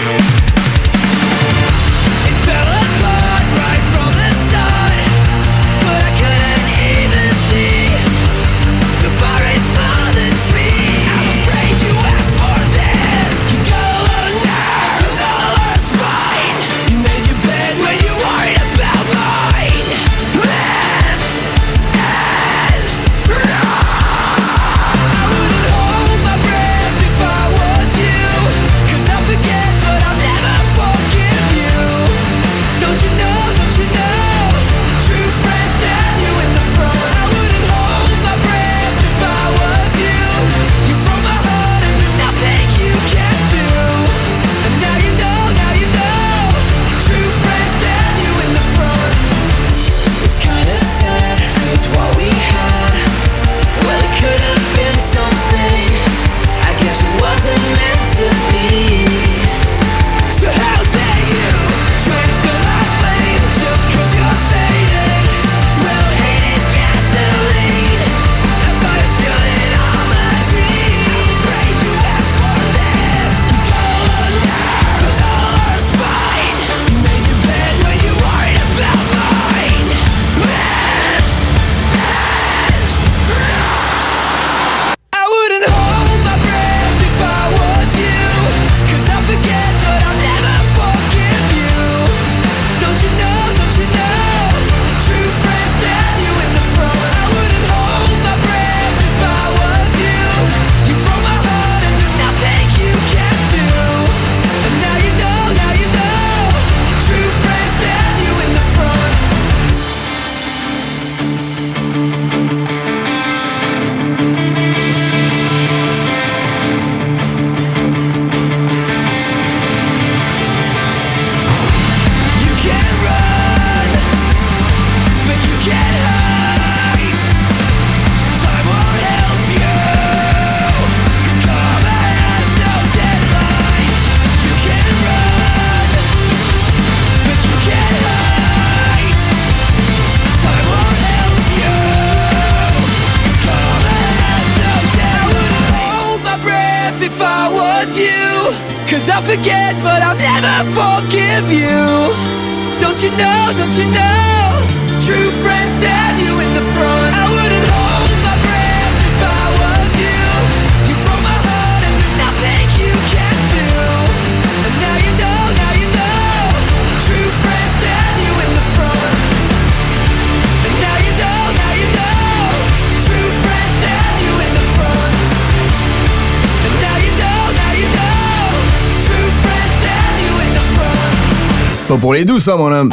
Speaker 15: It fell apart right from the start, but I couldn't even see the forest for the tree. I'm afraid you asked for this. You go alone now with all our spine. You made your bed when you worried about mine. This is wrong. I wouldn't hold my breath if I was you, 'cause I'll forget but I'll never forgive you. Don't you know, don't you know, true friends stab you in the front. I wouldn't hold my breath if I was you. You broke my heart and there's nothing you can do. And now you know, now you know, true friends stab you in the front. It's kinda sad, 'cause what we had, well, it could have been something. I guess it wasn't meant to be. So how dare you drench to my flame just 'cause you're faded? Well, hate is gasoline. I find a feeling on my dreams. I'm afraid you asked for this. You go alone now with all our spine. You made your bed when you worried about mine. This is wrong. I wouldn't hold my breath if I was you, 'cause I'll forget but I'll never forgive you. Don't you know, don't you know, true friends stab you in the front. I wouldn't hold my breath if I was you. You broke my heart and there's nothing you can do. And now you know, now you know, true friends stab you in the front. You can run, but you can't hide. Time won't help you, 'cause karma has no deadline. You can run, but you can't hide. Time won't help you, 'cause karma has no deadline. I wouldn't hold my breath if I was you, 'cause I'll forget but I'll never forgive you. Don't you know, don't you know, true friends stab you in the front. I wouldn't hold my breath if I was you. You broke my heart and there's nothing you can do. And now you know, now you know, true friends stab you in the front. And now you know, now you know, true friends stab you in the front. And now you know, now you know, true friends stab you in the front.
Speaker 18: Pas pour les doux, ça, mon homme.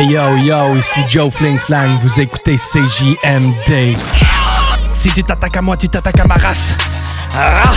Speaker 20: Hey yo yo, ici Joe Fling Flang, vous écoutez C J M D. Si tu t'attaques à moi, tu t'attaques à ma race. Ah!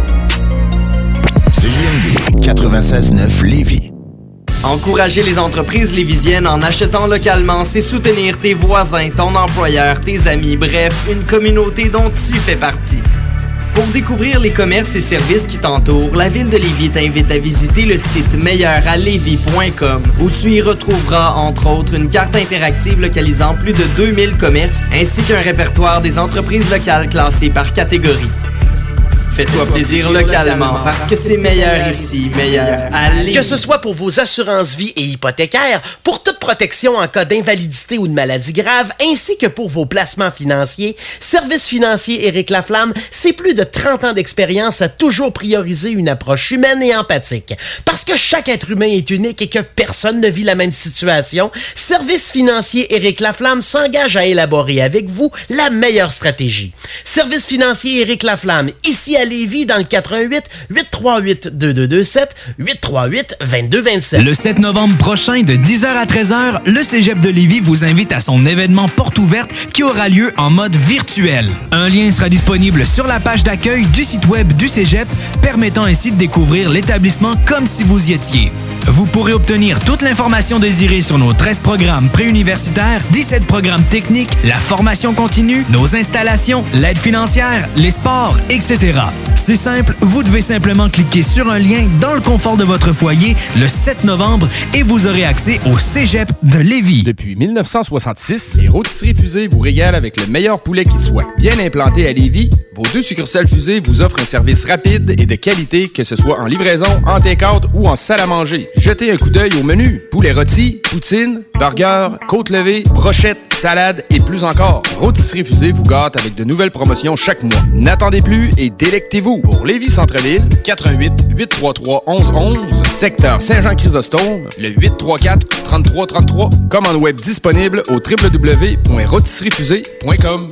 Speaker 12: C J M D quatre-vingt-seize neuf Lévis.
Speaker 11: Encourager les entreprises lévisiennes en achetant localement, c'est soutenir tes voisins, ton employeur, tes amis, bref, une communauté dont tu fais partie. Pour découvrir les commerces et services qui t'entourent, la Ville de Lévis t'invite à visiter le site meilleur à lévis point com où tu y retrouveras, entre autres, une carte interactive localisant plus de deux mille commerces ainsi qu'un répertoire des entreprises locales classées par catégorie. Fais-toi plaisir localement parce que c'est meilleur ici, meilleur à Lévis.
Speaker 21: Que ce soit pour vos assurances vie et hypothécaires, pour toute protection en cas d'invalidité ou de maladie grave, ainsi que pour vos placements financiers, Service financier Éric Laflamme, c'est plus de trente ans d'expérience à toujours prioriser une approche humaine et empathique. Parce que chaque être humain est unique et que personne ne vit la même situation, Service financier Éric Laflamme s'engage à élaborer avec vous la meilleure stratégie. Service financier Éric Laflamme, ici à Lévis dans le quatre un huit, huit trois huit, deux deux deux sept, huit trois huit, deux deux deux sept.
Speaker 10: Le sept novembre prochain, de dix heures à treize heures, le Cégep de Lévis vous invite à son événement Porte ouverte qui aura lieu en mode virtuel. Un lien sera disponible sur la page d'accueil du site web du Cégep, permettant ainsi de découvrir l'établissement comme si vous y étiez. Vous pourrez obtenir toute l'information désirée sur nos treize programmes préuniversitaires, dix-sept programmes techniques, la formation continue, nos installations, l'aide financière, les sports, et cetera. C'est simple, vous devez simplement cliquer sur un lien dans le confort de votre foyer le sept novembre et vous aurez accès au Cégep de Lévis.
Speaker 22: Depuis mille neuf cent soixante-six, les Rôtisseries Fusées vous régalent avec le meilleur poulet qui soit. Bien implanté à Lévis, vos deux succursales Fusées vous offrent un service rapide et de qualité, que ce soit en livraison, en take-out ou en salle à manger. Jetez un coup d'œil au menu. Poulet rôti, poutine, burger, côte levée, brochette, salade et plus encore. Rôtisseries Fusées vous gâte avec de nouvelles promotions chaque mois. N'attendez plus et délectez-vous. Pour Lévis Centre-Ville, quatre un huit, huit trois trois, un un un un, secteur Saint-Jean-Chrysostome, le huit trois quatre, trente-trois trente-trois. Commande web disponible au w w w point rôtisserie fusée point com.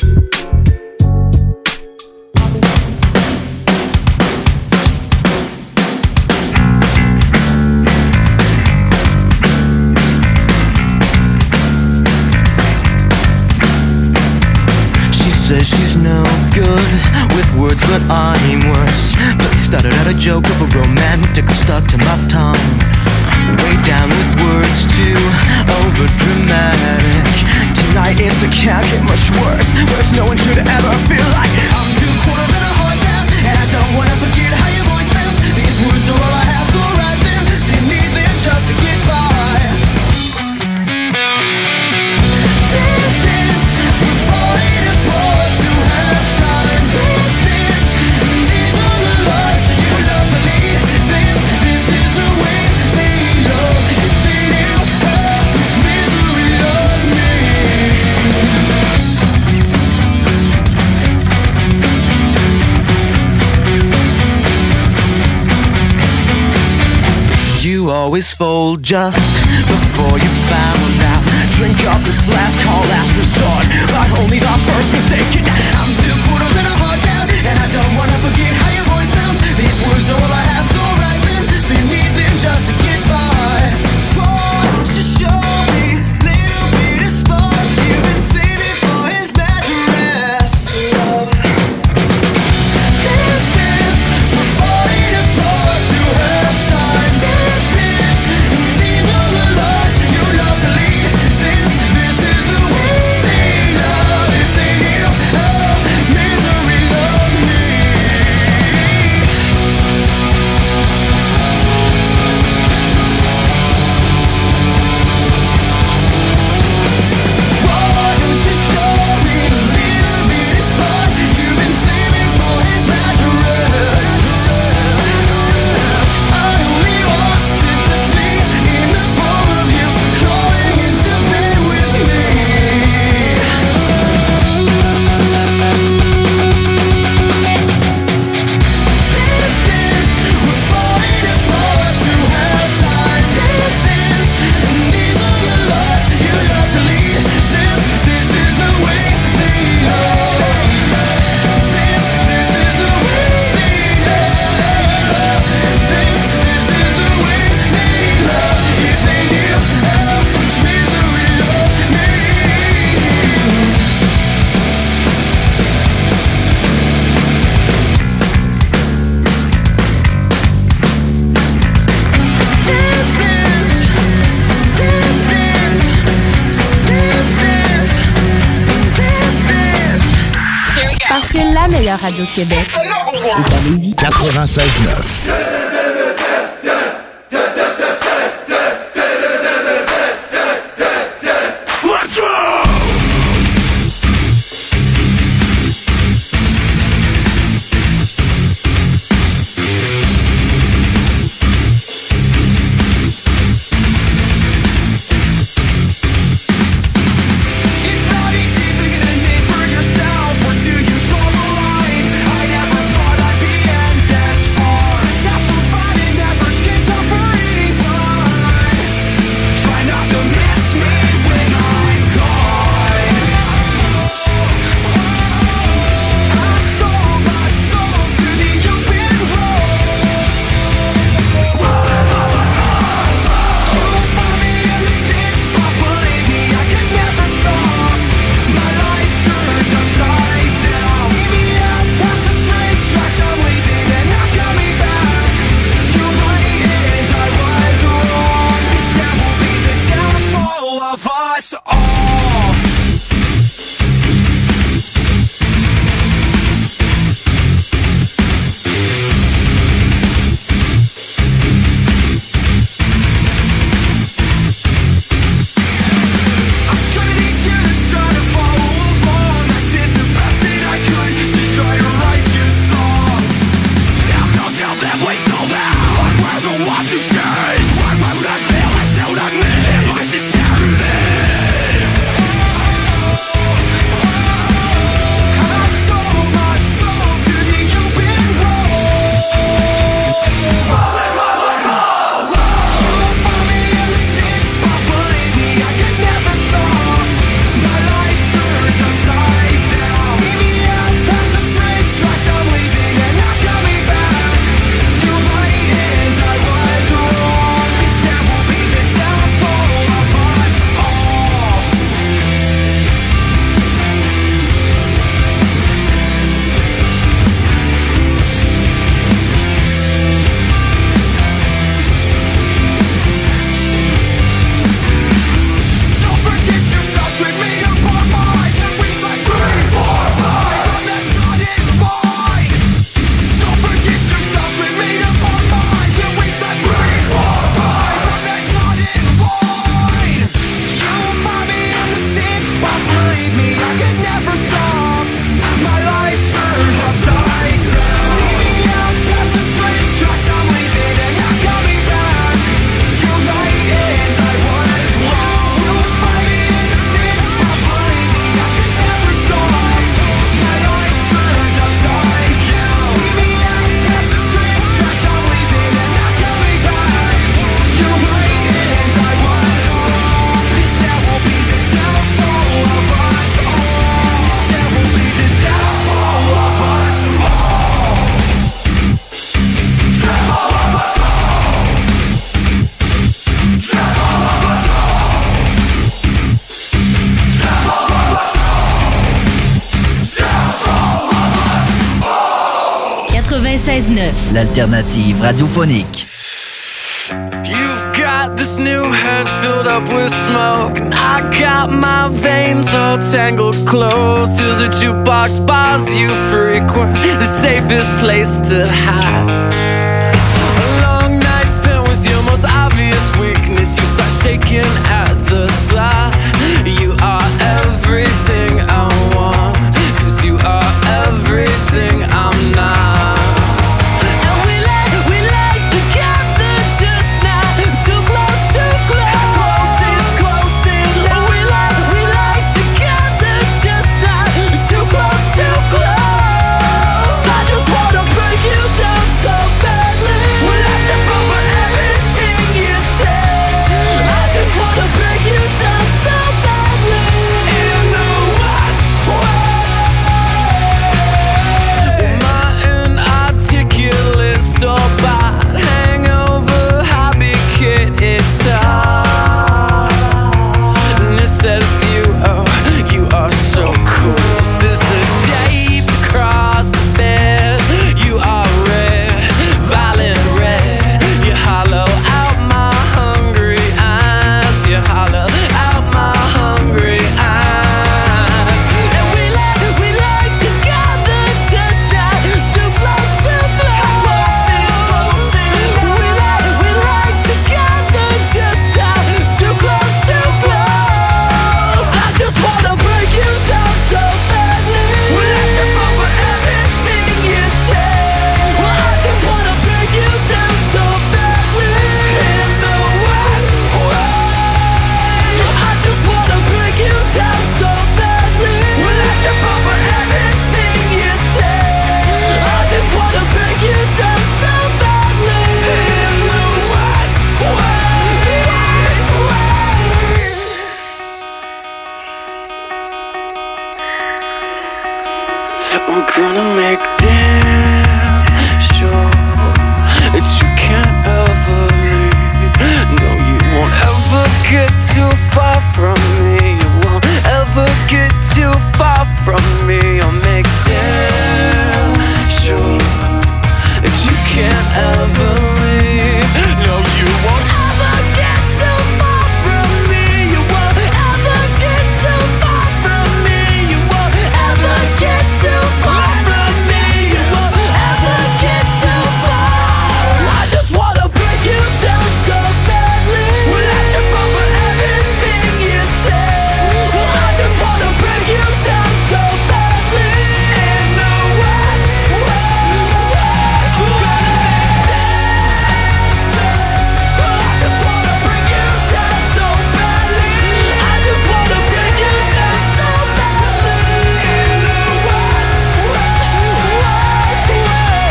Speaker 23: Says she's no good with words, but I'm worse. But they started out a joke of a romantic stuck to my tongue. Way down with words too over dramatic. Tonight it's it can't get much worse. Worse no one should ever feel like I'm two quarters and a heart down, and I don't wanna forget how your voice sounds. These words are all I have, so write them. So you need them just to get by. Distance, we're falling apart. Always fold just before you found out. Drink up, it's last call, last resort, but only the first mistake. And I'm two quarters and a heart down, and I don't wanna forget how your voice sounds. These words are all I have, so write them. So you need them just to get by. Oh, just show me little bit of spark. You've been saving for his bad rest. Distance, we're falling apart to have time. Distance, these are the lies you love to lead. This, this is the way they
Speaker 9: Parce que la meilleure radio de Québec est à Lévis.
Speaker 12: quatre-vingt-seize neuf.
Speaker 9: quatre-vingt-seize neuf.
Speaker 1: L'alternative radiophonique.
Speaker 23: You've got this new head filled up with smoke, and I got my veins all tangled close to the jukebox bars you frequent, the safest place to hide. A long night spent with your most obvious weakness, you start shaking at the thought. You are everything I want, 'cause you are everything I'm not.
Speaker 15: Wanna
Speaker 23: I'm gonna make damn sure that you can't ever leave. No, you won't ever get too far from me. You won't ever get too far from me. I'll make damn sure that you can't ever leave. No, you won't ever get too far from me. You won't ever get too far from me. You won't ever get too far from me. You won't ever get too far. I just wanna break you down so badly. Will I trip over everything you say? I just wanna break you down so badly. In the West, West, West, we're gonna make I just wanna break you down so badly. I just wanna break you down so badly. In the West, West, West,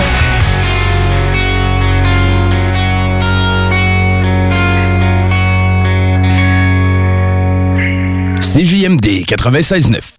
Speaker 22: C J M D quatre-vingt-seize neuf.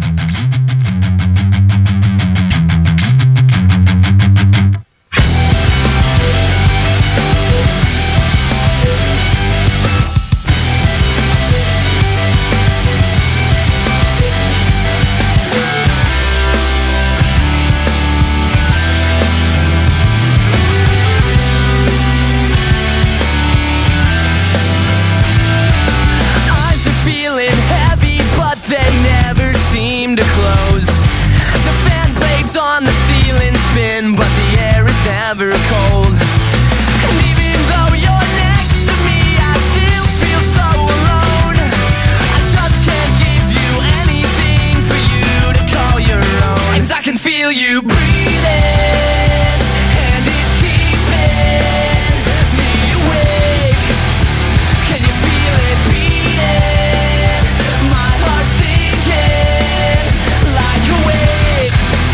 Speaker 23: Eyes are feeling heavy, but they never seem to close. The fan blades on the ceiling spin, but the air is never cold. And even though you're next to me, I still feel so alone. I just can't give you anything for you to call your own. And I can feel you breathing, and it's keeping me awake. Can you feel it beating? My heart sinking like a wave.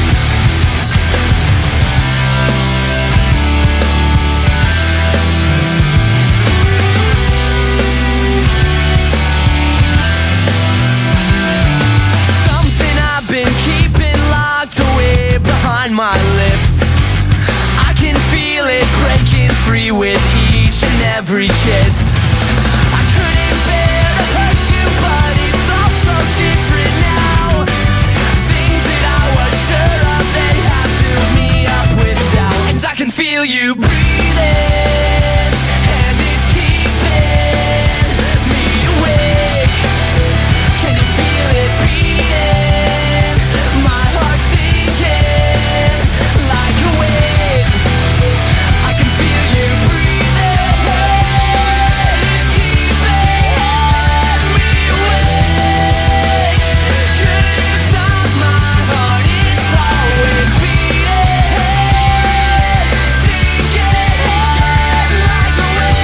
Speaker 23: Something I've been keeping locked away behind my lips. I can feel it breaking free with each and every kiss. I couldn't bear to hurt you, but it's all so different now. Things that I was sure of, they have filled me up with doubt. And I can feel you breathing, and it's keeping me awake. Can you feel it beating? My heart sinking like a wave. I can feel you breathing, it's keeping me awake. Could you stop my heart? It's always beating, sinking like a wave.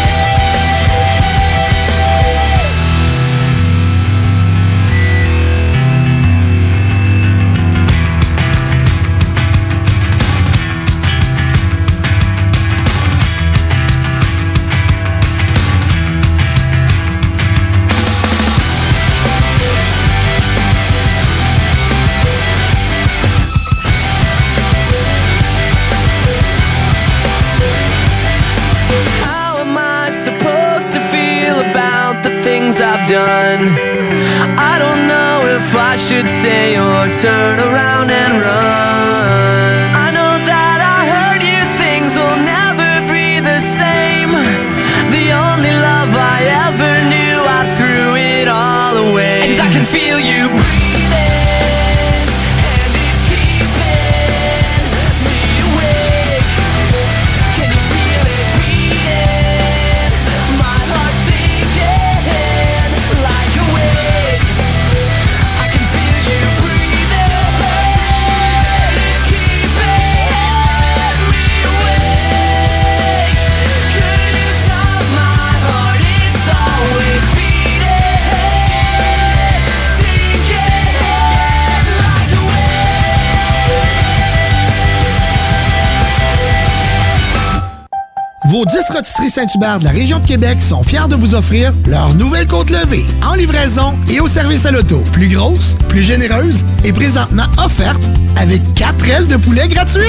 Speaker 23: How am I supposed to feel about the things I've done? I don't know if I should stay or turn around and run. I know that I hurt you, things will never be the same. The only love I ever knew, I threw it all away. And I can feel you breathing, and it's keeping me awake. Can you feel it beating? My heart sinking like a wave. I can feel you breathing,
Speaker 5: vos dix rôtisseries Saint-Hubert de la région de Québec sont fiers de vous offrir leur nouvelle côte levée en livraison et au service à l'auto. Plus grosse, plus généreuse et présentement offerte avec quatre ailes de poulet gratuites.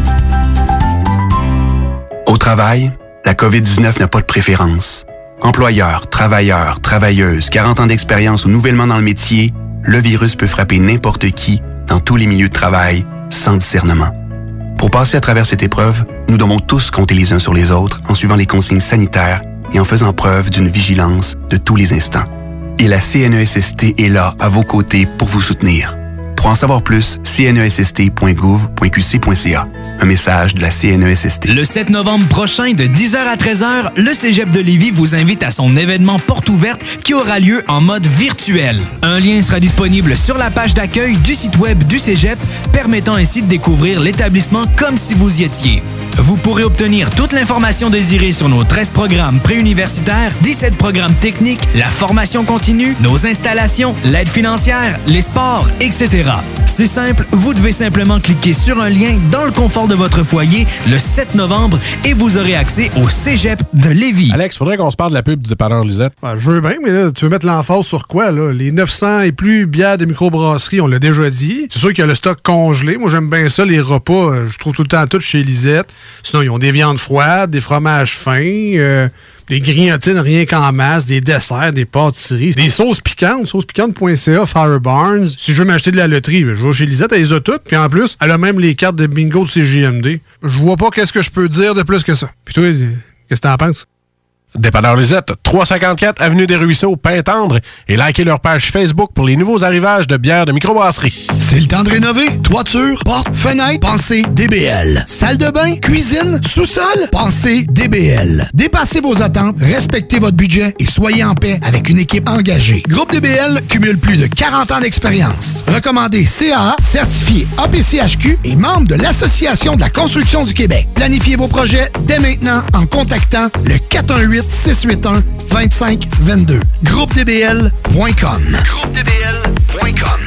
Speaker 2: Au travail, la covid dix-neuf n'a pas de préférence. Employeurs, travailleurs, travailleuses, quarante ans d'expérience ou nouvellement dans le métier, le virus peut frapper n'importe qui dans tous les milieux de travail sans discernement. Pour passer à travers cette épreuve, nous devons tous compter les uns sur les autres en suivant les consignes sanitaires et en faisant preuve d'une vigilance de tous les instants. Et la C N E S S T est là, à vos côtés, pour vous soutenir. Pour en savoir plus, c n e s s t point gouv point q c point c a. Un message de la C N E S S T.
Speaker 10: Le sept novembre prochain, de dix heures à treize heures, le Cégep de Lévis vous invite à son événement porte ouverte qui aura lieu en mode virtuel. Un lien sera disponible sur la page d'accueil du site web du Cégep, permettant ainsi de découvrir l'établissement comme si vous y étiez. Vous pourrez obtenir toute l'information désirée sur nos treize programmes préuniversitaires, dix-sept programmes techniques, la formation continue, nos installations, l'aide financière, les sports, et cetera. C'est simple, vous devez simplement cliquer sur un lien dans le confort de votre foyer le sept novembre et vous aurez accès au Cégep de Lévis.
Speaker 20: Alex, faudrait qu'on se parle de la pub du dépanneur Lisette.
Speaker 3: Ben, je veux bien, mais là, tu veux mettre l'emphase sur quoi, là? Les neuf cents et plus bières de microbrasserie, on l'a déjà dit. C'est sûr qu'il y a le stock congelé. Moi, j'aime bien ça, les repas. Je trouve tout le temps tout chez Lisette. Sinon, ils ont des viandes froides, des fromages fins, euh, des grillotines rien qu'en masse, des desserts, des pâtisseries, des sauces piquantes, sauce piquante point c a, Fire Barnes. Si je veux m'acheter de la loterie, je vais chez Lisette, elle les a toutes. Puis en plus, elle a même les cartes de bingo de C J M D. Je vois pas qu'est-ce que je peux dire de plus que ça. Puis toi, qu'est-ce que t'en penses?
Speaker 20: Dépanneur Lisette, trois cent cinquante-quatre Avenue des Ruisseaux, Pintendre, et likez leur page Facebook pour les nouveaux arrivages de bières de microbrasserie.
Speaker 5: C'est le temps de rénover. Toiture, porte, fenêtre, pensez D B L. Salle de bain, cuisine, sous-sol, pensez D B L. Dépassez vos attentes, respectez votre budget et soyez en paix avec une équipe engagée. Groupe D B L cumule plus de quarante ans d'expérience. Recommandé C A A, certifié A P C H Q et membre de l'Association de la construction du Québec. Planifiez vos projets dès maintenant en contactant le quatre un huit, six huit un, deux cinq deux deux. groupe d b l point com. groupe d b l point com.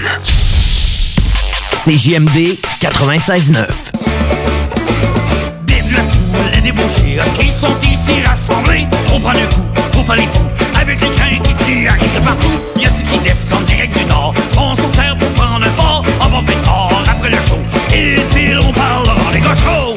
Speaker 1: C J M D quatre-vingt-seize neuf.
Speaker 15: Vive la foule, les débauchés qui sont ici rassemblés. On prend le coup, on fait les fous, avec les craintes qui arrivent de partout. Y'a ceux qui descendent direct du nord, sont sur terre pour prendre un fort. On va faire tard après le show, et puis on parle devant les gauchos.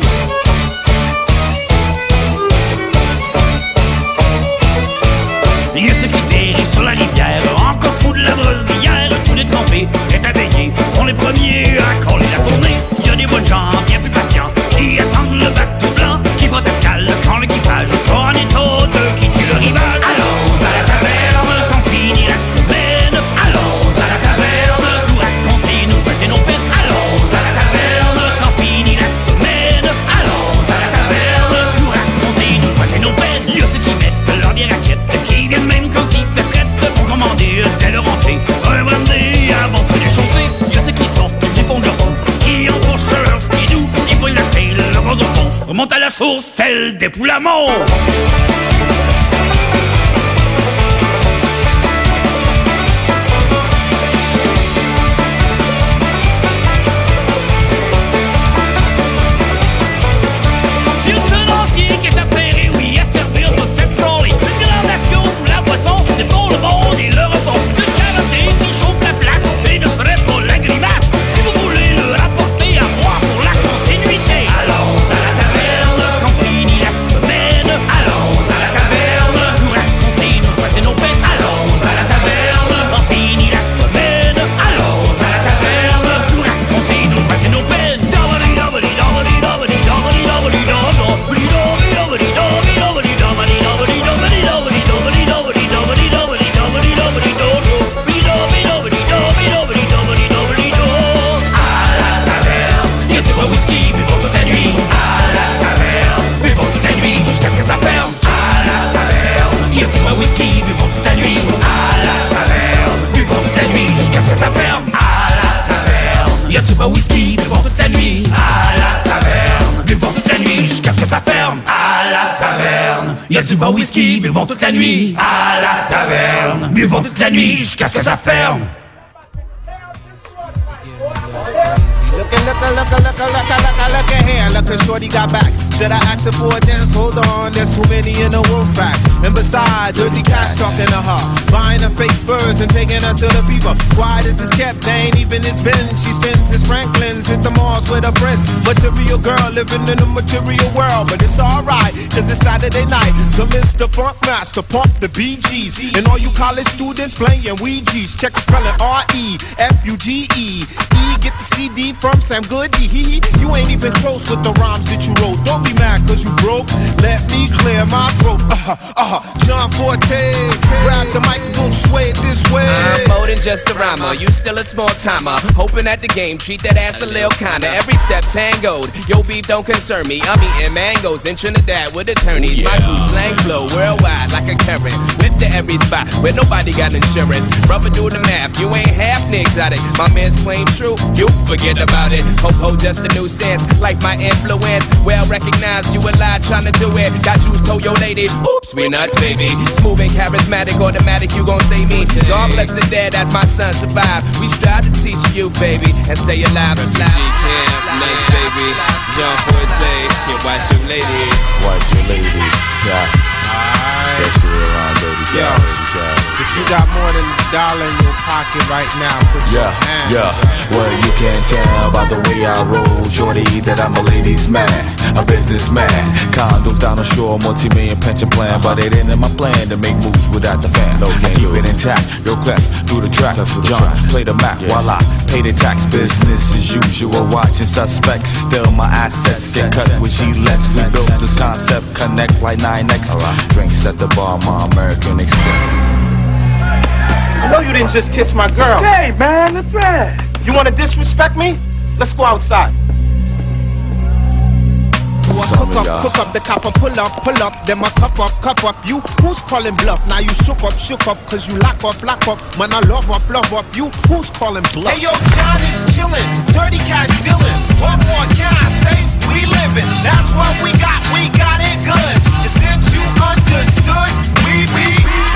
Speaker 15: Y'a ceux qui dérivent sur la rivière, encore sous de la brosse d'hier. Tous les trempés, prêts à baigner, sont les premiers à coller la tournée. Y'a des bonnes gens bien plus patients qui attendent le bateau blanc qui va escale quand l'équipage sera en état de quitter le rivage. Allons à la taverne, quand finit la semaine. Allons à la taverne, nous raconter, nous choisir nos peines. Allons à la taverne, quand finit la semaine. Allons à la taverne, nous raconter, nous choisir nos peines. Y'a ceux qui mettent leur bière raquette, qui viennent même quand il fait prête pour commander dès leur entrée un brandy avant de les chausser. Y'a ceux qui sortent du fond de leur trou, qui enfourchent leur skidoo, ils voient la trail, le gros au fond, remontent à la source tel des poules à mort. Vieux tenancier qui est appairé, oui, à servir toute cette trolley. Une gradation sous la boisson, c'est pour le monde et le repos. De karaté qui chauffe la place et ne ferait pas la grimace. Si vous voulez le rapporter à moi pour la continuité. Allons à la taverne, quand finit la semaine. Allons à la taverne, nous raconter, nous choisir nos peines. Allons à la taverne, quand finit la semaine. Allons à la taverne, nous raconter, nous choisir nos peines. Whisky, buvons toute la nuit à la taverne. Buvons toute la nuit jusqu'à ce que ça ferme. À la taverne, y'a du bon whisky, buvons toute la nuit à la taverne. Buvons toute la nuit jusqu'à ce que ça ferme. À la taverne, y'a du bon whisky, buvons toute la nuit à la taverne. Buvons toute la nuit jusqu'à ce que ça ferme.
Speaker 6: Look at, look at, look at, look at, look at, look at, look at here. Look at shorty got back. Should I ask her for a dance? Hold on, there's too many in the wolf pack. And besides, dirty cash talking to her, buying her fake furs and taking her to the fever. Quiet as it's kept, they ain't even it's been. She spends his Franklin's, hit the malls with her friends. Material girl living in a material world, but it's alright, cause it's Saturday night. So Mister Funk Master, pump the B Gs. And all you college students playing Ouija's. Check the spelling R E F U G E. E, get the C D from Sam Goody. You ain't even close with the rhymes that you wrote. Don't be mad cause you broke. Let me clear my throat. Uh-huh, uh-huh. John Forte, grab the mic and don't sway it this way.
Speaker 7: I'm more than just a rhymer. You still a small timer. Hoping at the game, treat that ass a little kinda. Every step tangoed. Yo, beef don't concern me. I'm eating mangoes in Trinidad with attorneys. My crew slang flow worldwide like a current. Whip to every spot where nobody got insurance. Rubber do the math. You ain't half exotic. My man's claim true. You forget about it. Ho ho, just a new sense. Like my influence. Well recognized. You a lie trying to do it. Got you told your lady. Oops, we nuts, baby. Smooth and charismatic, automatic. You gon' save me. God bless the dead as my son survive. We strive to teach you, baby, and stay alive. Alive.
Speaker 6: Nice baby, John Forte, yeah, watch your lady.
Speaker 8: Watch your lady, yeah. Especially around baby
Speaker 6: Yo, if you got more than a dollar in your pocket right now, put
Speaker 8: yeah,
Speaker 6: your hands
Speaker 8: yeah.
Speaker 6: up.
Speaker 8: Well, you can tell by the way I roll, shorty, that I'm a ladies' man, a businessman. Condos down the shore, multi-million pension plan, but it ain't in my plan to make moves without the fan. No, I keep it intact, yo, clef through the track. John, play the map yeah. while I pay the tax. Business as usual, watching suspects. Still my assets get cut with G-Lex. We built this concept, connect like nine X. Drinks at the bar, my American Express.
Speaker 6: I know you didn't just kiss my girl.
Speaker 24: Hey, man, that's right.
Speaker 6: You want to disrespect me? Let's go outside. Cook up, cook up, the copper, pull up, pull up, then my cup up, cup up. You, who's calling bluff? Now you shook up, shook up, cause you lock up, lock up. Man, I love up, love up. You, who's calling bluff? Hey, yo, John is chillin', dirty cash dealin'. What more can I say? We livin', that's what we got, we got it good. And since you understood, we be.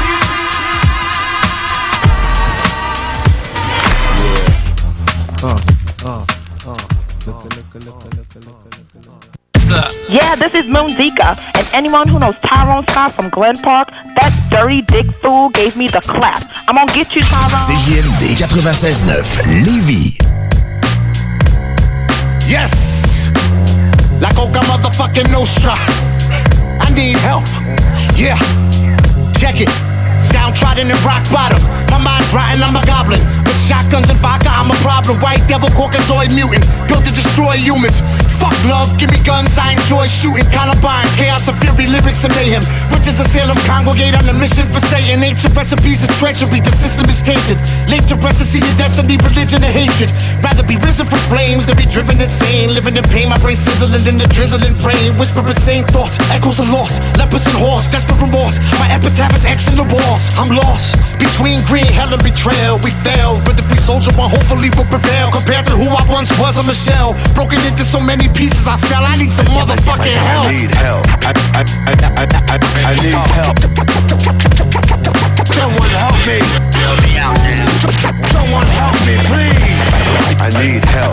Speaker 8: Yeah. Uh, uh, uh. Look, look, look, look, look, look, look, look.
Speaker 25: Yeah, this is Moon Zika, and anyone who knows Tyrone Scott from Glen Park, that dirty dick fool gave me the clap. I'm gonna get you, Tyrone.
Speaker 1: C J M D ninety-six point neuf, Lévis.
Speaker 5: Yes! Like Oka motherfucking Nostra. I need help. Yeah. Check it. Downtrodden and rock bottom. My mind's rotten, I'm a goblin. With shotguns and vodka, I'm a problem. White devil, Caucasoid mutant. Built to destroy humans. Fuck love, give me guns, I enjoy shooting. Columbine, chaos and fury, lyrics and mayhem. Witches of Salem congregate on the mission for Satan. Ancient recipes of treachery, the system is tainted. Late to rest to see your destiny, religion and hatred. Rather be risen from flames than be driven insane. Living in pain, my brain sizzling in the drizzling brain. Whisper insane thoughts, echoes of loss. Lepers and horse, desperate remorse. My epitaph is X in the walls. I'm lost between green hell and betrayal. We failed, but the free soldier one hopefully will prevail. Compared to who I once was, I'm a shell. Broken into so many pieces, I fell. I need some motherfucking help.
Speaker 8: I need help. I, I, I, I, I, I need help.
Speaker 5: Someone help me.
Speaker 8: Help me out now.
Speaker 5: Someone help me, please.
Speaker 8: I need help.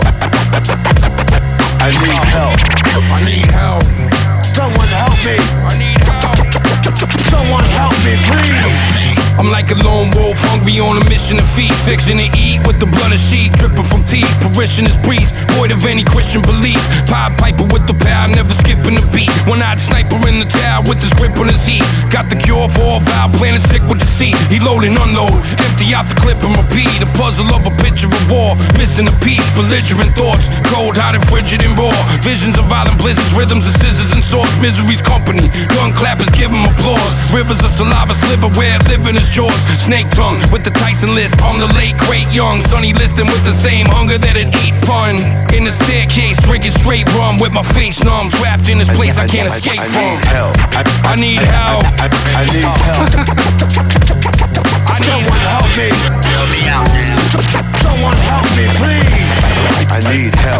Speaker 8: I need help.
Speaker 5: I need help. Someone help me. I need help. Someone help me, please.
Speaker 26: I'm like a lone wolf, hungry on a mission to feed. Fiction to eat with the blood of sheep dripping from teeth. Parishioners priest, void of any Christian belief. Pied piper with the power, never skipping a beat. One-eyed sniper in the tower with his grip on his heat. Got the cure for all foul, planet sick with deceit. He load and unload, empty out the clip and repeat. A puzzle of a picture of war, missing a piece. Belligerent thoughts, cold, hot and frigid and raw. Visions of violent blizzards, rhythms of scissors and swords. Misery's company, gun clappers give him applause. Rivers of saliva sliver where living is jaws. Snake tongue with the Tyson lisp. I'm the late great young Sonny Liston with the same hunger that it ate pun. In the staircase drinking straight rum with my face numb, trapped in this place I, I can't I, escape I, I from.
Speaker 8: Need help. I,
Speaker 26: I need help.
Speaker 8: I, I, I need help.
Speaker 26: I need
Speaker 5: Someone help me.
Speaker 8: Help me out now.
Speaker 5: Someone help me, please.
Speaker 8: I need help.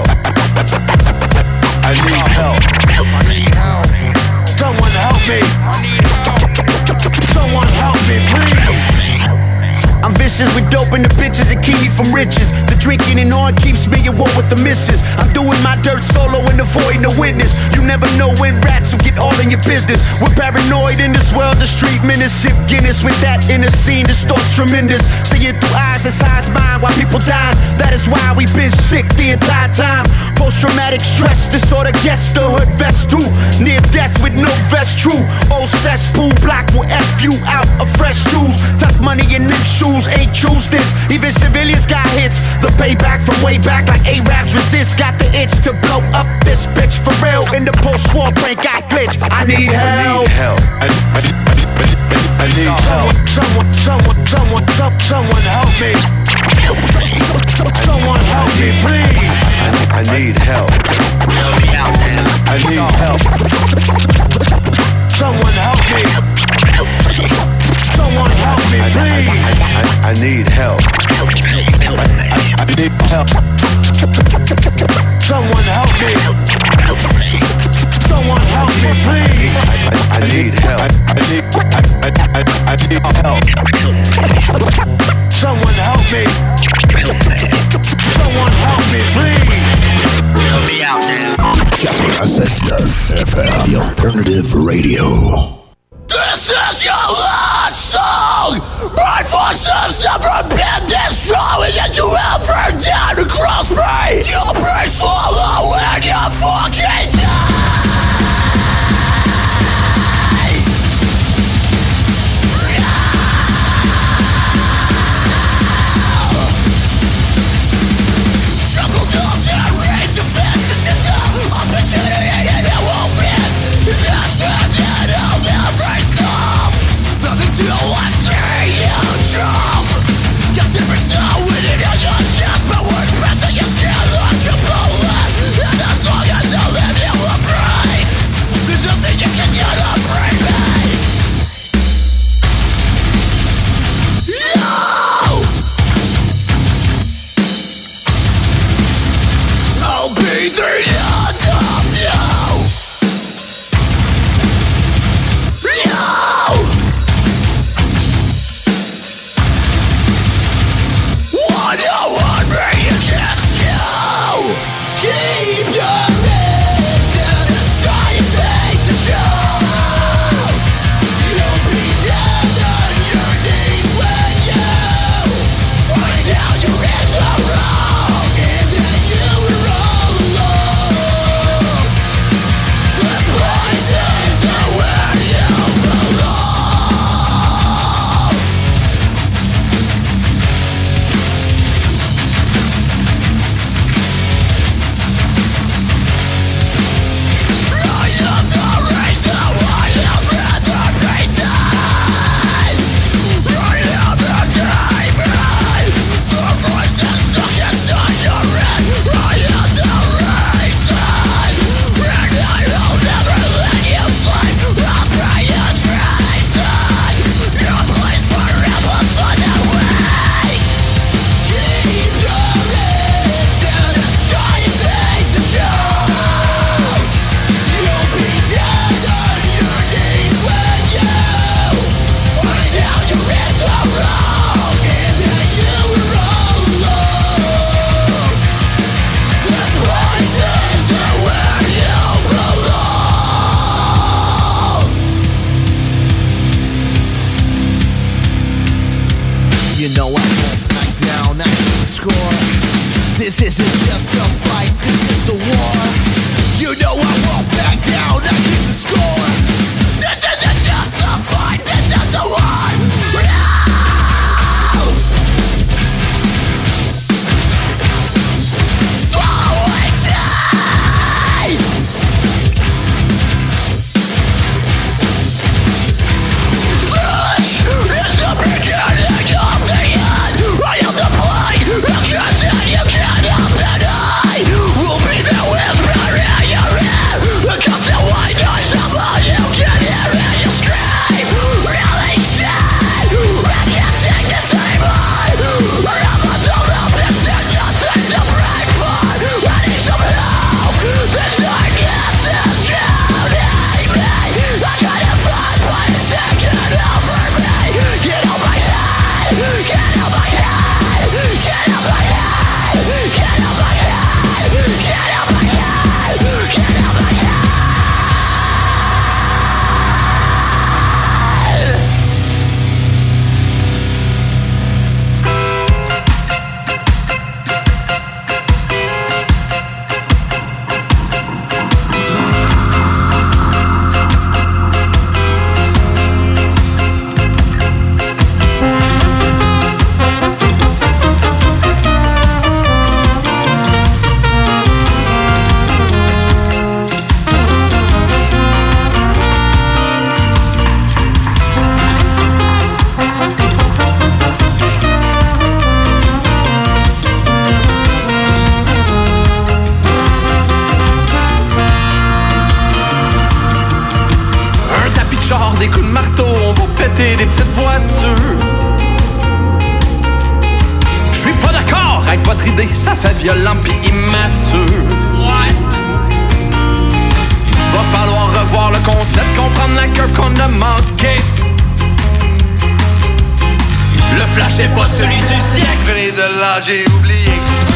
Speaker 8: I need help.
Speaker 26: I need help.
Speaker 5: Someone help me.
Speaker 26: I need help.
Speaker 5: Someone help me, please.
Speaker 27: I'm vicious
Speaker 4: sessions with dope and the bitches that keep me from riches. The drinking and on keeps me at war with the missus. I'm doing my dirt solo and avoiding the witness. You never know when rats will get all in your business. We're paranoid in this world, the street menace. Sip Guinness with that inner scene, distorts tremendous. Seeing through eyes as high as mine while people die. That is why we've been sick the entire time. Post-traumatic stress disorder gets the hood vest too. Near death with no vest, true. Old cesspool block will F you out of fresh jewels. Tuck money in them shoes, ain't choose this. Even civilians got hits. The payback from way back like A-Raps resist. Got the itch to blow up this bitch for real. In the post-war brain got glitch. I need help.
Speaker 13: I need help. I, I, I, I need help. Someone, someone, someone, someone, someone help me. Someone help me, please. I, I need help. I need help. Someone help me. Someone help me, please. I, I, I need help. I, I need help. Someone help me. Someone help me, please. I, I need help. I, I need. I, I, I, I need help. Someone help me. Someone help me, please. We'll be out now.
Speaker 12: ninety-six point nine F M, the alternative radio.
Speaker 15: This is your last song! My forces never been this strong, and yet you ever down to cross me! You'll be swallowed when you fucking die! Troubled up and raised to fix the system. Opportunity and it won't miss. That's it, and I'll never stop. Nothing to watch you jump. Guess never saw winning on your chest, but words pressing your skin like a bullet. And as long as I live, you will breathe. There's nothing you can do to break me. No! I'll be the end of you. No! One oh one me against you. Keep your head down and try and face the truth. You'll be dead on your knees when you find out you hit the wrong, and then you were all alone.
Speaker 14: notre idée, ça fait violent pis immature. Ouais. Va falloir revoir le concept, comprendre la curve qu'on a manqué. Le flash est pas celui du siècle. Venez de là, j'ai oublié.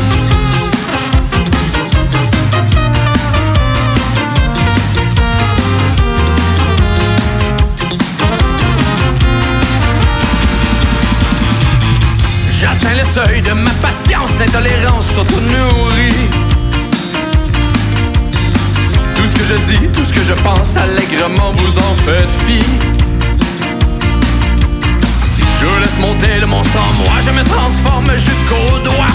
Speaker 14: J'atteins le seuil de ma patience, l'intolérance s'auto-nourrit. Tout ce que je dis, tout ce que je pense, allègrement vous en faites fi. Je laisse monter le monstre en moi, je me transforme jusqu'au doigt.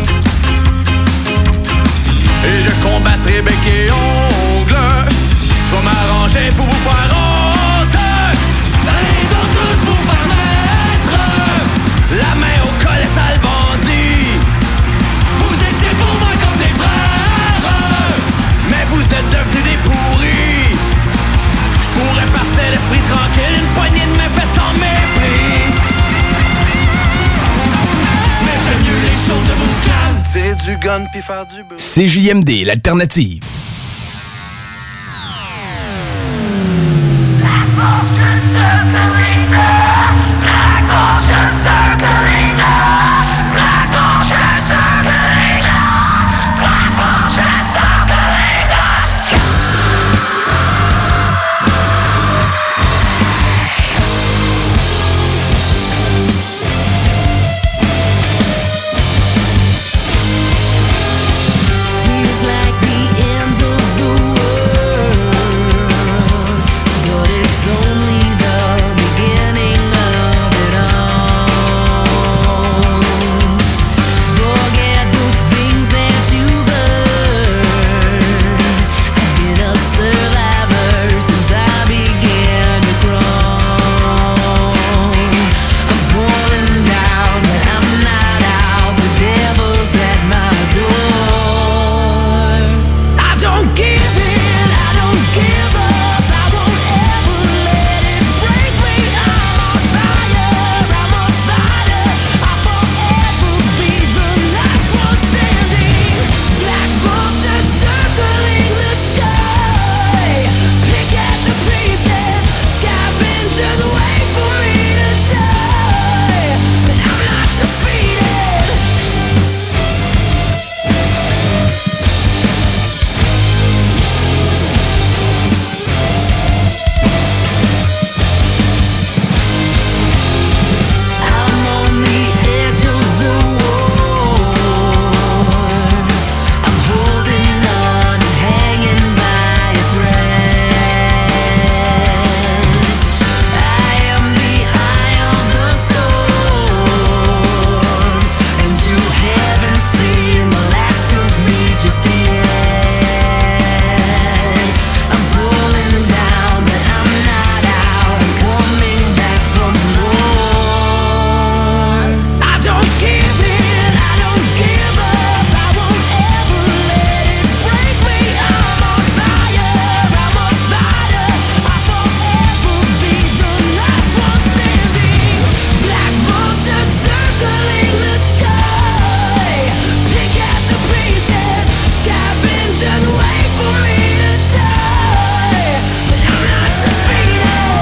Speaker 14: Et je combattrai bec et ongle. Je vais m'arranger pour vous faire honte. Allez donc tous vous faire mettre la main au collet, sale bandit. Vous étiez pour moi comme des frères, mais vous êtes devenus des pourris. Je pourrais partir l'esprit tranquille, une poignée de main faite sans mépris. Mais j'aime mieux les choses de boucan. Tirer du gun puis faire du bruit.
Speaker 1: C J M D, l'alternative.
Speaker 15: La force circling up. La force circling up. La force circling up. La force circling up. Feels like the end of the world, but it's only the beginning of it all. Forget the things that you've heard. I've been a survivor since I began to crawl. I'm falling down, but I'm not out. The devil's at my door. I don't give in, I don't give up. I won't ever let it break me. I'm on fire, I'm a fighter. I'll forever be the last one standing. Black vultures circling the sky. Pick at the pieces, scavengers wait for me to die. But I'm not defeated. I'm on the edge of the war. I'm holding on and hanging by a thread. I am the eye of the storm, and you haven't seen the last of me just yet. I'm falling down, but I'm not out. I'm coming back for more. I don't give in, I don't give up. I won't ever let it break me. I'm on fire, I'm a fighter. I'll forever be the last one standing. Black vultures circling the sky. Pick at the pieces, scavengers wait for me to die. But I'm not defeated.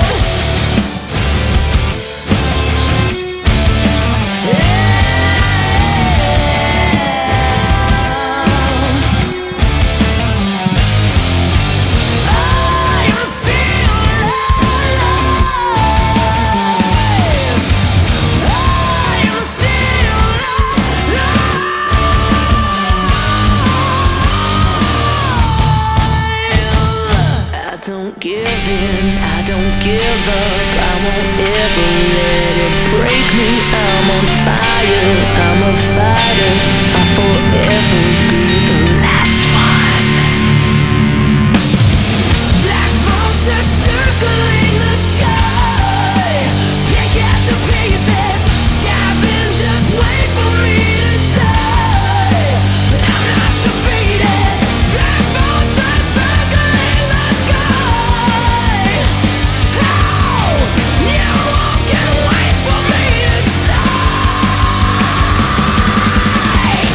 Speaker 15: I am still alive. I am still alive. I don't give in, I don't give up. I won't ever let it break me. I'm on fire, I'm a fighter. I'll forever be the last one. Black vultures circling the sky. Pick at the pieces, scavengers wait for me to die. But I'm not defeated. Black vultures circling the sky. Oh, you walk and wait for me to die.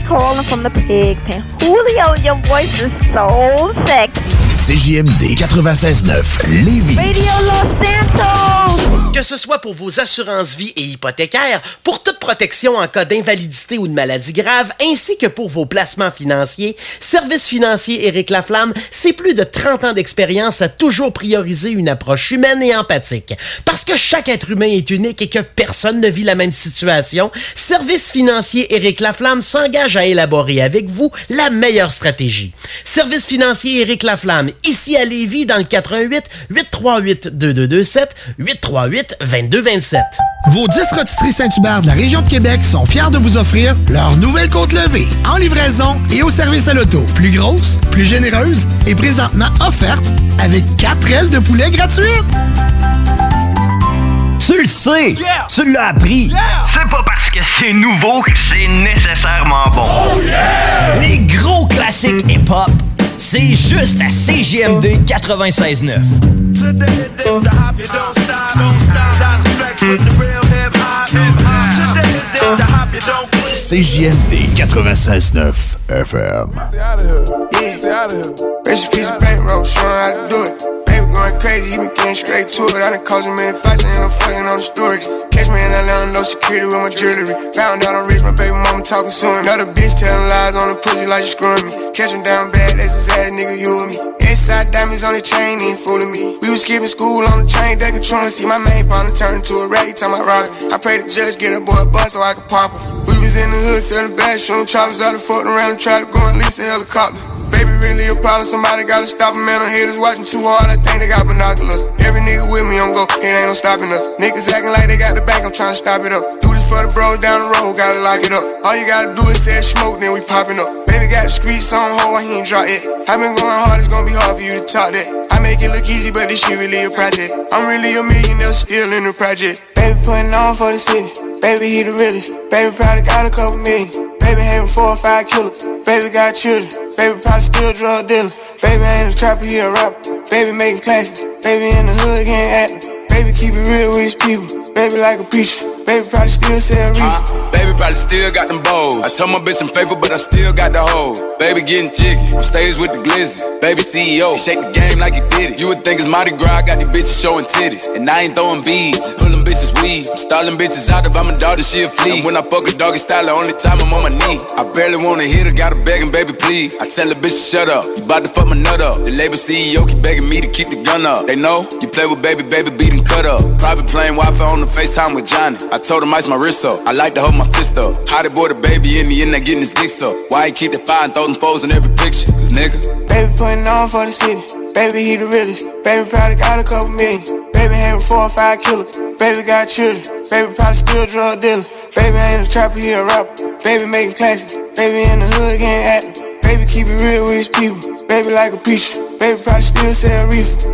Speaker 25: calling from the pig pen. Julio, your voice is so sexy.
Speaker 1: C J M D quatre-vingt-seize neuf, Lévis.
Speaker 25: Radio Los Santos!
Speaker 21: Que ce soit pour vos assurances vie et hypothécaires, pour toute protection en cas d'invalidité ou de maladie grave, ainsi que pour vos placements financiers, Service financier Éric Laflamme, c'est plus de trente ans d'expérience à toujours prioriser une approche humaine et empathique. Parce que chaque être humain est unique et que personne ne vit la même situation, Service financier Éric Laflamme s'engage à élaborer avec vous la meilleure stratégie. Service financier Éric Laflamme, ici à Lévis, dans le quatre un huit, huit trois huit, deux deux deux sept, huit trois huit, deux deux deux sept.
Speaker 5: Vos dix rôtisseries Saint-Hubert de la région de Québec sont fiers de vous offrir leur nouvelle côte levée, en livraison et au service à l'auto. Plus grosse, plus généreuse et présentement offerte avec quatre ailes de poulet gratuites.
Speaker 1: Tu le sais! Yeah! Tu l'as appris!
Speaker 11: Yeah! C'est pas parce que c'est nouveau que c'est nécessairement bon.
Speaker 1: Oh yeah! Les gros classiques hip-hop, c'est juste à C J M D quatre-vingt-seize neuf. C J M D quatre-vingt-seize neuf F M.
Speaker 16: Yeah, recipe of bankroll, showing how to do it. Baby going crazy, he been getting straight to it. I done caused him many fights, and I'm fucking on the stories. Catch me in Atlanta, no security with my jewelry. Found out I'm rich, my baby mama talking to him. Another bitch telling lies on the pussy like you screwing me. Catch him down bad, that's his ass, nigga, you and me. Inside diamonds on the chain, he ain't fooling me. We was skipping school on the train, they controlling. See my main partner turn into a rat, he talking about robbing. I pray the judge get a boy a bus so I can pop him. We was in the hood selling bags, shooting choppers out and fucking around and try to go and lease a helicopter. Baby really a problem, somebody gotta stop him, man. I'm haters watching too hard, I think they got binoculars. Every nigga with me on go, it ain't no stopping us. Niggas acting like they got the bank, I'm trying to stop it up. Do this for the bros down the road, gotta lock it up. All you gotta do is say smoke, then we popping up. Baby got the streets on hold, he ain't drop it. I been going hard, it's gonna be hard for you to talk that. I make it look easy, but this shit really a project. I'm really a millionaire, still in the project. Baby putting on for the city, baby he the realest. Baby probably got a couple million. Baby having four or five killers. Baby got children. Baby probably still drug dealing. Baby ain't a trapper, he a rapper. Baby making classics. Baby in the hood getting active. Baby keep it real with his people. Baby like a preacher. Baby probably still sell reefer.
Speaker 26: Uh, baby probably still got them bows. I told my bitch I'm faithful, but I still got the hoes. Baby getting jiggy. On stage with the glizzy. Baby C E O. He shake the game like he did it. You would think it's Mardi Gras. I got these bitches showing titties. And I ain't throwing beads. Pulling bitches weed. I'm stalling bitches out. If I'm a dog, then she a flea. And when I fuck a doggy style, the only time I'm on my knee. I barely wanna hit her. Gotta begging, baby, please. I tell a bitch to shut up. You bout to fuck my nut up. The label C E O keep begging me to keep the gun up. They know you play with baby, baby, beat and cut up. Private plane Wi-Fi on the FaceTime with Johnny. I told him ice my wrist up. I like to hold my fist up. How they boy the baby in the end, they getting his dick up. Why he keep the fire and throw them foes in every picture? Cause nigga,
Speaker 16: baby putting on for the city. Baby he the realest. Baby probably got a couple million. Baby having four or five killers. Baby got children. Baby probably still drug dealing. Baby ain't a trapper, he a rapper. Baby making classics. Baby in the hood getting active. Baby keep it real with his people. Baby like a preacher. Baby probably still sell reefer.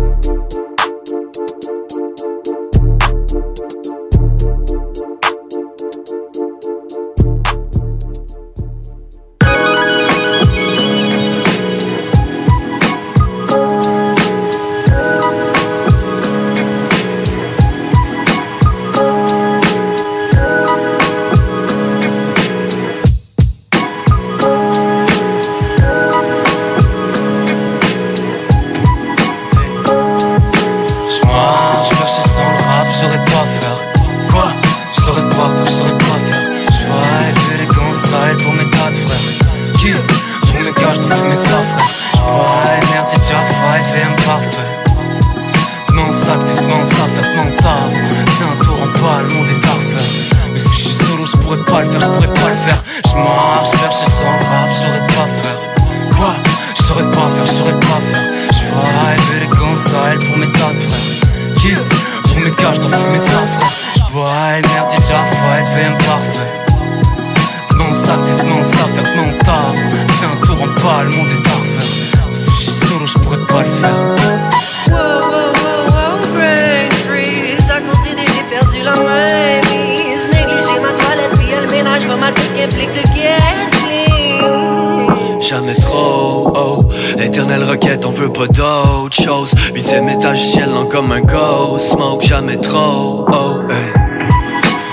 Speaker 23: Huitième étage, ciel lent comme un ghost. Smoke jamais trop, oh, hey. Hey,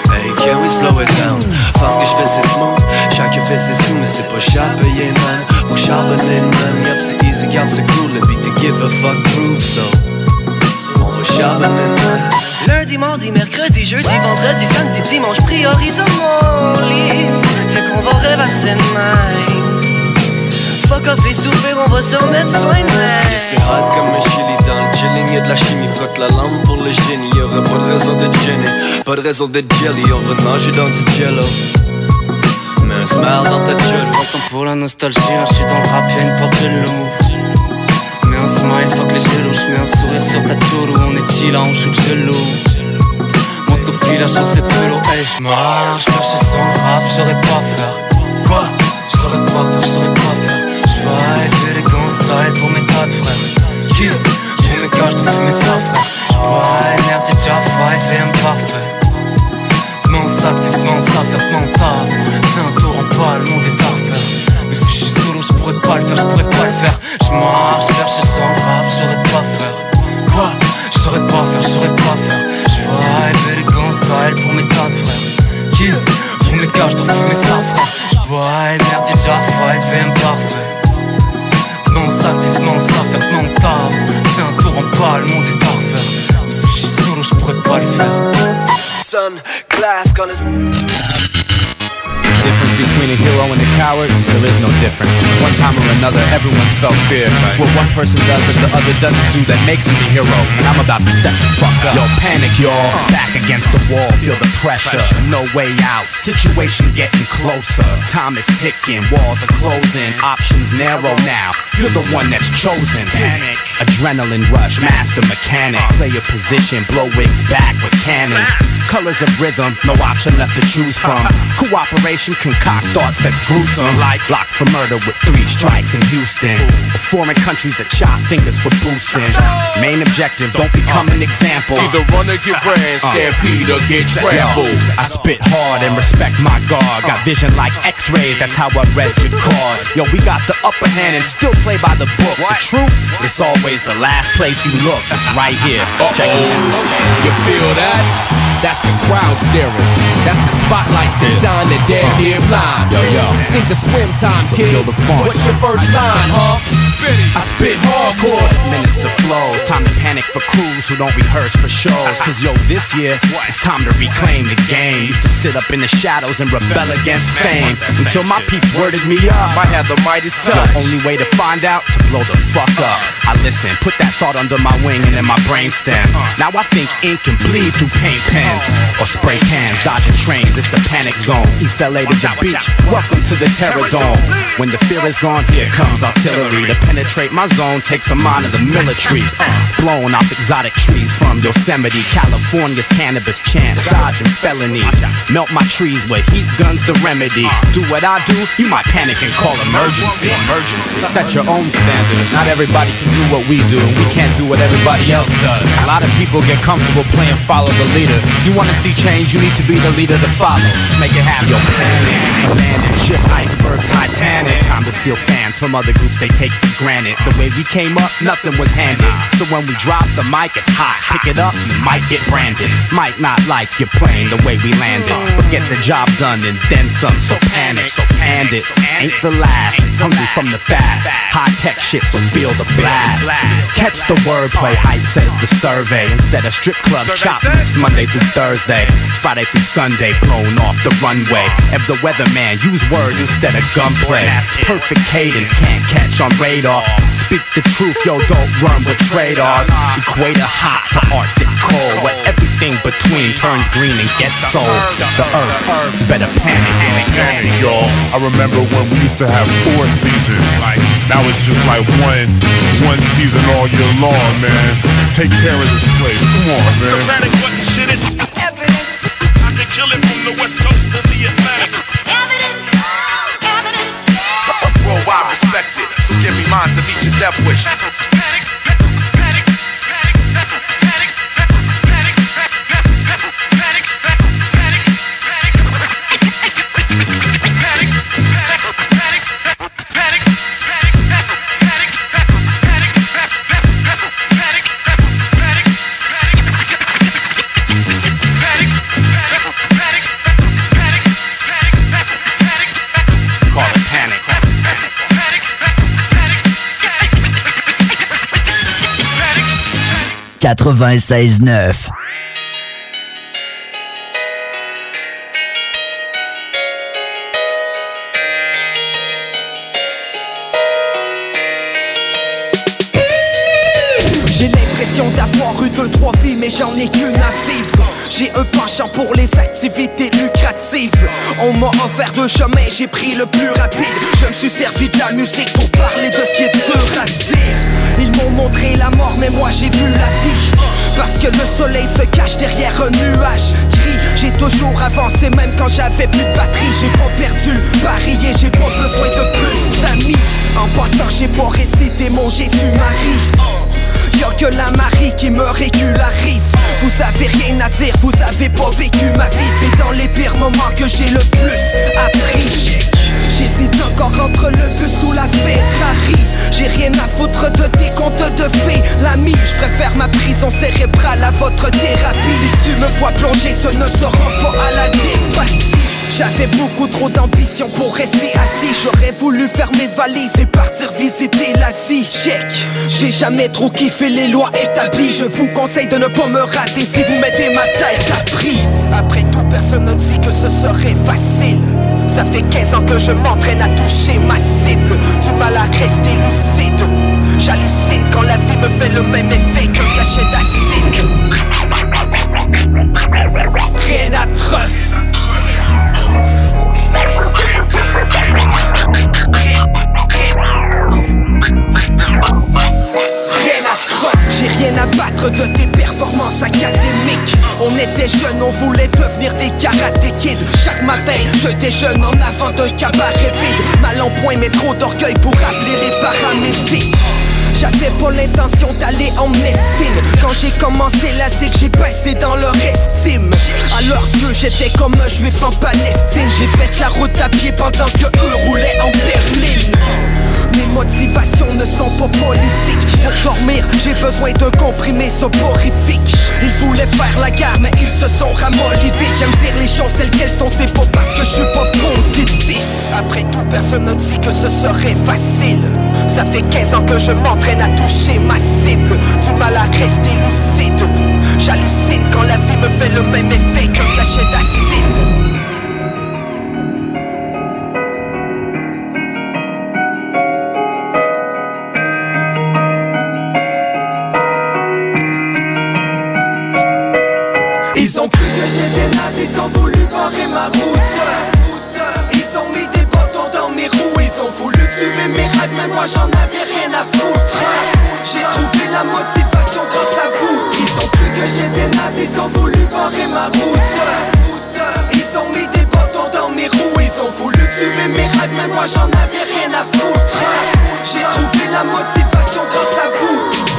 Speaker 9: Can we slow it down? Parce que je fais c'est smooth, chacun fait ses sous, mais c'est pas cher payé, man. Pour charbonner, man, yup, c'est easy, garde c'est cool, le beat to give a fuck groove, so on va charbonner, man.
Speaker 23: Lundi, mardi, mercredi, jeudi, vendredi, samedi, dimanche, priorise mon lit. Fait qu'on va rêvasser de même. Fuck off les soupers, on va se remettre soin de même.
Speaker 9: Yeah, c'est hot comme un chili dans le chilling, y'a de la chimie, fuck la lampe pour le génie. Y'aurait pas de raison d'être gêné, pas de raison d'être jelly. On va nager dans du jello, mets un smile dans ta gueule.
Speaker 23: Attends pour la nostalgie, là j'suis dans le rap, y'a une porte de loup. Mets un smile, fuck les gelos, j'mets un sourire sur ta choulou. On est chill, on shoot gelou. Monte au fil, la chaussette vélo, hey j'marche, perché sans le rap, j'saurais pas faire. Quoi? J'saurais pas faire, j'saurais pas faire. J'vibe élégant style pour mes tas de frères. Qui? Pour mes gars, j'dois fumer ça frère. J'bois merde, j'ai déjà five et un parfait. T'm'en sac, t'm'en ça, faire t'm'en taf. Fais un tour en bas, le monde est à refaire. Mais si j'suis solo, j'pourrais pas le faire, j'pourrais pas le faire. J'marche, perché sans le rap, j'saurais pas faire. Quoi? J'saurais pas faire, j'saurais pas faire. J'vibe élégant style pour mes tas de frères. Qui? Pour mes gars, j'dois fumer ça frère. J'bois merde, j'ai déjà five et un parfait. T'm'en sac, t'm'en ça, faire t'm'en taf. Fais un tour en bas, le monde est à refaire. Mais si j'suis solo, j'pourrais pas le faire.
Speaker 9: Sun, glass, gonna...
Speaker 17: Difference between a hero and a coward, there is no difference. One time or another, everyone's felt fear. It's what one person does that the other doesn't do that makes him the hero. And I'm about to step the fuck up. Yo, panic, y'all. Back against the wall, feel the pressure. No way out, situation getting closer. Time is ticking, walls are closing. Options narrow now, you're the one that's chosen. Panic, adrenaline rush, master mechanic. Play your position, blow wigs back with cannons. Colors of rhythm, no option left to choose from. Cooperation, concoct thoughts that's gruesome. Like locked for murder with three strikes in Houston. Or foreign countries that chop fingers for boosting. Main objective, don't become an example.
Speaker 26: Either run or get ran, stampede or get trampled.
Speaker 17: I spit hard and respect my guard. Got vision like x-rays, that's how I read your card. Yo, we got the upper hand and still play by the book. The truth, it's always the last place you look. It's right here. Check it out.
Speaker 26: You feel that? That's the crowd staring. That's the spotlights that shine the damn near blind.
Speaker 17: Yo, yo.
Speaker 26: Sink or swim time, kid. What's your first line, huh? I spit hardcore.
Speaker 17: Minister flows. Time to panic for crews who don't rehearse for shows. Cause yo, this year, it's time to reclaim the game. Used to sit up in the shadows and rebel against fame. Until my peeps worded me up.
Speaker 26: I had the Midas touch.
Speaker 17: The only way to find out, to blow the fuck up. I listen, put that thought under my wing and in my brainstem. Now I think ink can bleed through paint pens. Or spray cans, dodging trains, it's the panic zone. East L A to the beach, welcome to the Terror Dome. When the fear is gone, here comes artillery. To penetrate my zone, takes a mind of the military. Blowing off exotic trees from Yosemite, California's cannabis champ. Dodging felonies, melt my trees with heat guns the remedy. Do what I do, you might panic and call emergency. Emergency. Set your own standards, not everybody can do what we do. We can't do what everybody else does. A lot of people get comfortable playing follow the leader. If you wanna see change, you need to be the leader to follow. Just make it happen. Yo, panic, abandoned ship, iceberg, Titanic. Time to steal fans from other groups they take for granted. The way we came up, nothing was handed. So when we drop the mic, it's hot. Pick it up, you might get branded. Might not like your plane the way we landed, but get the job done and then some. So panic, so and it ain't the last. Hungry from the fast, high tech shit, so feel the blast. Catch the wordplay, hype says the survey. Instead of strip club chop, Monday through Thursday, Friday through Sunday, blown off the runway. If the weatherman, use words instead of gunplay. Perfect cadence, can't catch on radar. Speak the truth, yo, don't run with trade-offs. Equator hot to Arctic cold, where everything between turns green and gets sold. The earth, better panic, panic, panic,
Speaker 18: y'all. I remember when we used to have four seasons. Like, now it's just like one, one season all year long, man. Just take care of this place. Come on, man.
Speaker 14: Schematic, what the shit is? Evidence. I can kill it from the west coast to the Atlantic.
Speaker 15: Evidence, evidence.
Speaker 14: Worldwide respected, so give me mine to meet your death wish. Panic, panic, panic, panic, panic, panic, panic, panic, panic,
Speaker 1: quatre-vingt-seize neuf.
Speaker 2: J'ai l'impression d'avoir eu deux, trois vies, mais j'en ai qu'une à vivre. J'ai un penchant pour les activités lucratives. On m'a offert deux chemins, j'ai pris le plus rapide. Je me suis servi de la musique pour parler de ce qui est dur à dire. Ils m'ont montré la mort, mais moi j'ai vu la vie. Parce que le soleil se cache derrière un nuage gris. J'ai toujours avancé même quand j'avais plus de batterie. J'ai pas perdu le pari et j'ai pas besoin de plus d'amis. En passant j'ai pas récité mon Jésus-Marie. Y'a que la Marie qui me régularise. Vous avez rien à dire, vous avez pas vécu ma vie. C'est dans les pires moments que j'ai le plus appris. J'hésite encore entre le bus ou la Ferrari. J'ai rien à foutre de tes contes de fées. L'ami, je préfère ma prison cérébrale à votre thérapie. Si tu me vois plonger, ce ne sera pas à la dépathie. J'avais beaucoup trop d'ambition pour rester assis. J'aurais voulu faire mes valises et partir visiter l'Asie. Check, j'ai jamais trop kiffé les lois établies. Je vous conseille de ne pas me rater si vous mettez ma taille à prix. Après tout, personne ne dit que ce serait facile. Ça fait quinze ans que je m'entraîne à toucher ma cible. Du mal à rester lucide. J'hallucine quand la vie me fait le même effet qu'un cachet d'acide. Rien à treuf. J'ai rien à battre de tes performances académiques. On était jeunes, on voulait devenir des karaté kids. Chaque matin, je déjeune en avant d'un cabaret vide. Mal en point, mais trop d'orgueil pour appeler les paramédics. J'avais pas l'intention d'aller en médecine. Quand j'ai commencé la zig, j'ai baissé dans leur estime. À leurs yeux, j'étais comme un juif en Palestine. J'ai fait la route à pied pendant que eux roulaient en berline. Mes motivations ne sont pas politiques. Pour dormir, j'ai besoin d'un comprimé soporifique. Ils voulaient faire la guerre, mais ils se sont ramollis vite. J'aime dire les choses telles qu'elles sont, c'est pas parce que je suis pas positif. Après tout, personne ne dit que ce serait facile. Ça fait quinze ans que je m'entraîne à toucher ma cible. Du mal à rester lucide. J'hallucine quand la vie me fait le même effet qu'un cachet d'acide. Ils ont cru que j'étais naze, ils ont voulu barrer ma route. Ils ont mis des bâtons dans mes roues. Ils ont voulu tuer mes rêves, mais moi j'en avais rien à foutre. J'ai trouvé la motivation grâce à vous. Ils ont cru que j'étais naze, ils ont voulu barrer ma route. Ils ont mis des bâtons dans mes roues. Ils ont voulu tuer mes rêves, mais moi j'en avais rien à foutre. J'ai trouvé la motivation grâce à vous.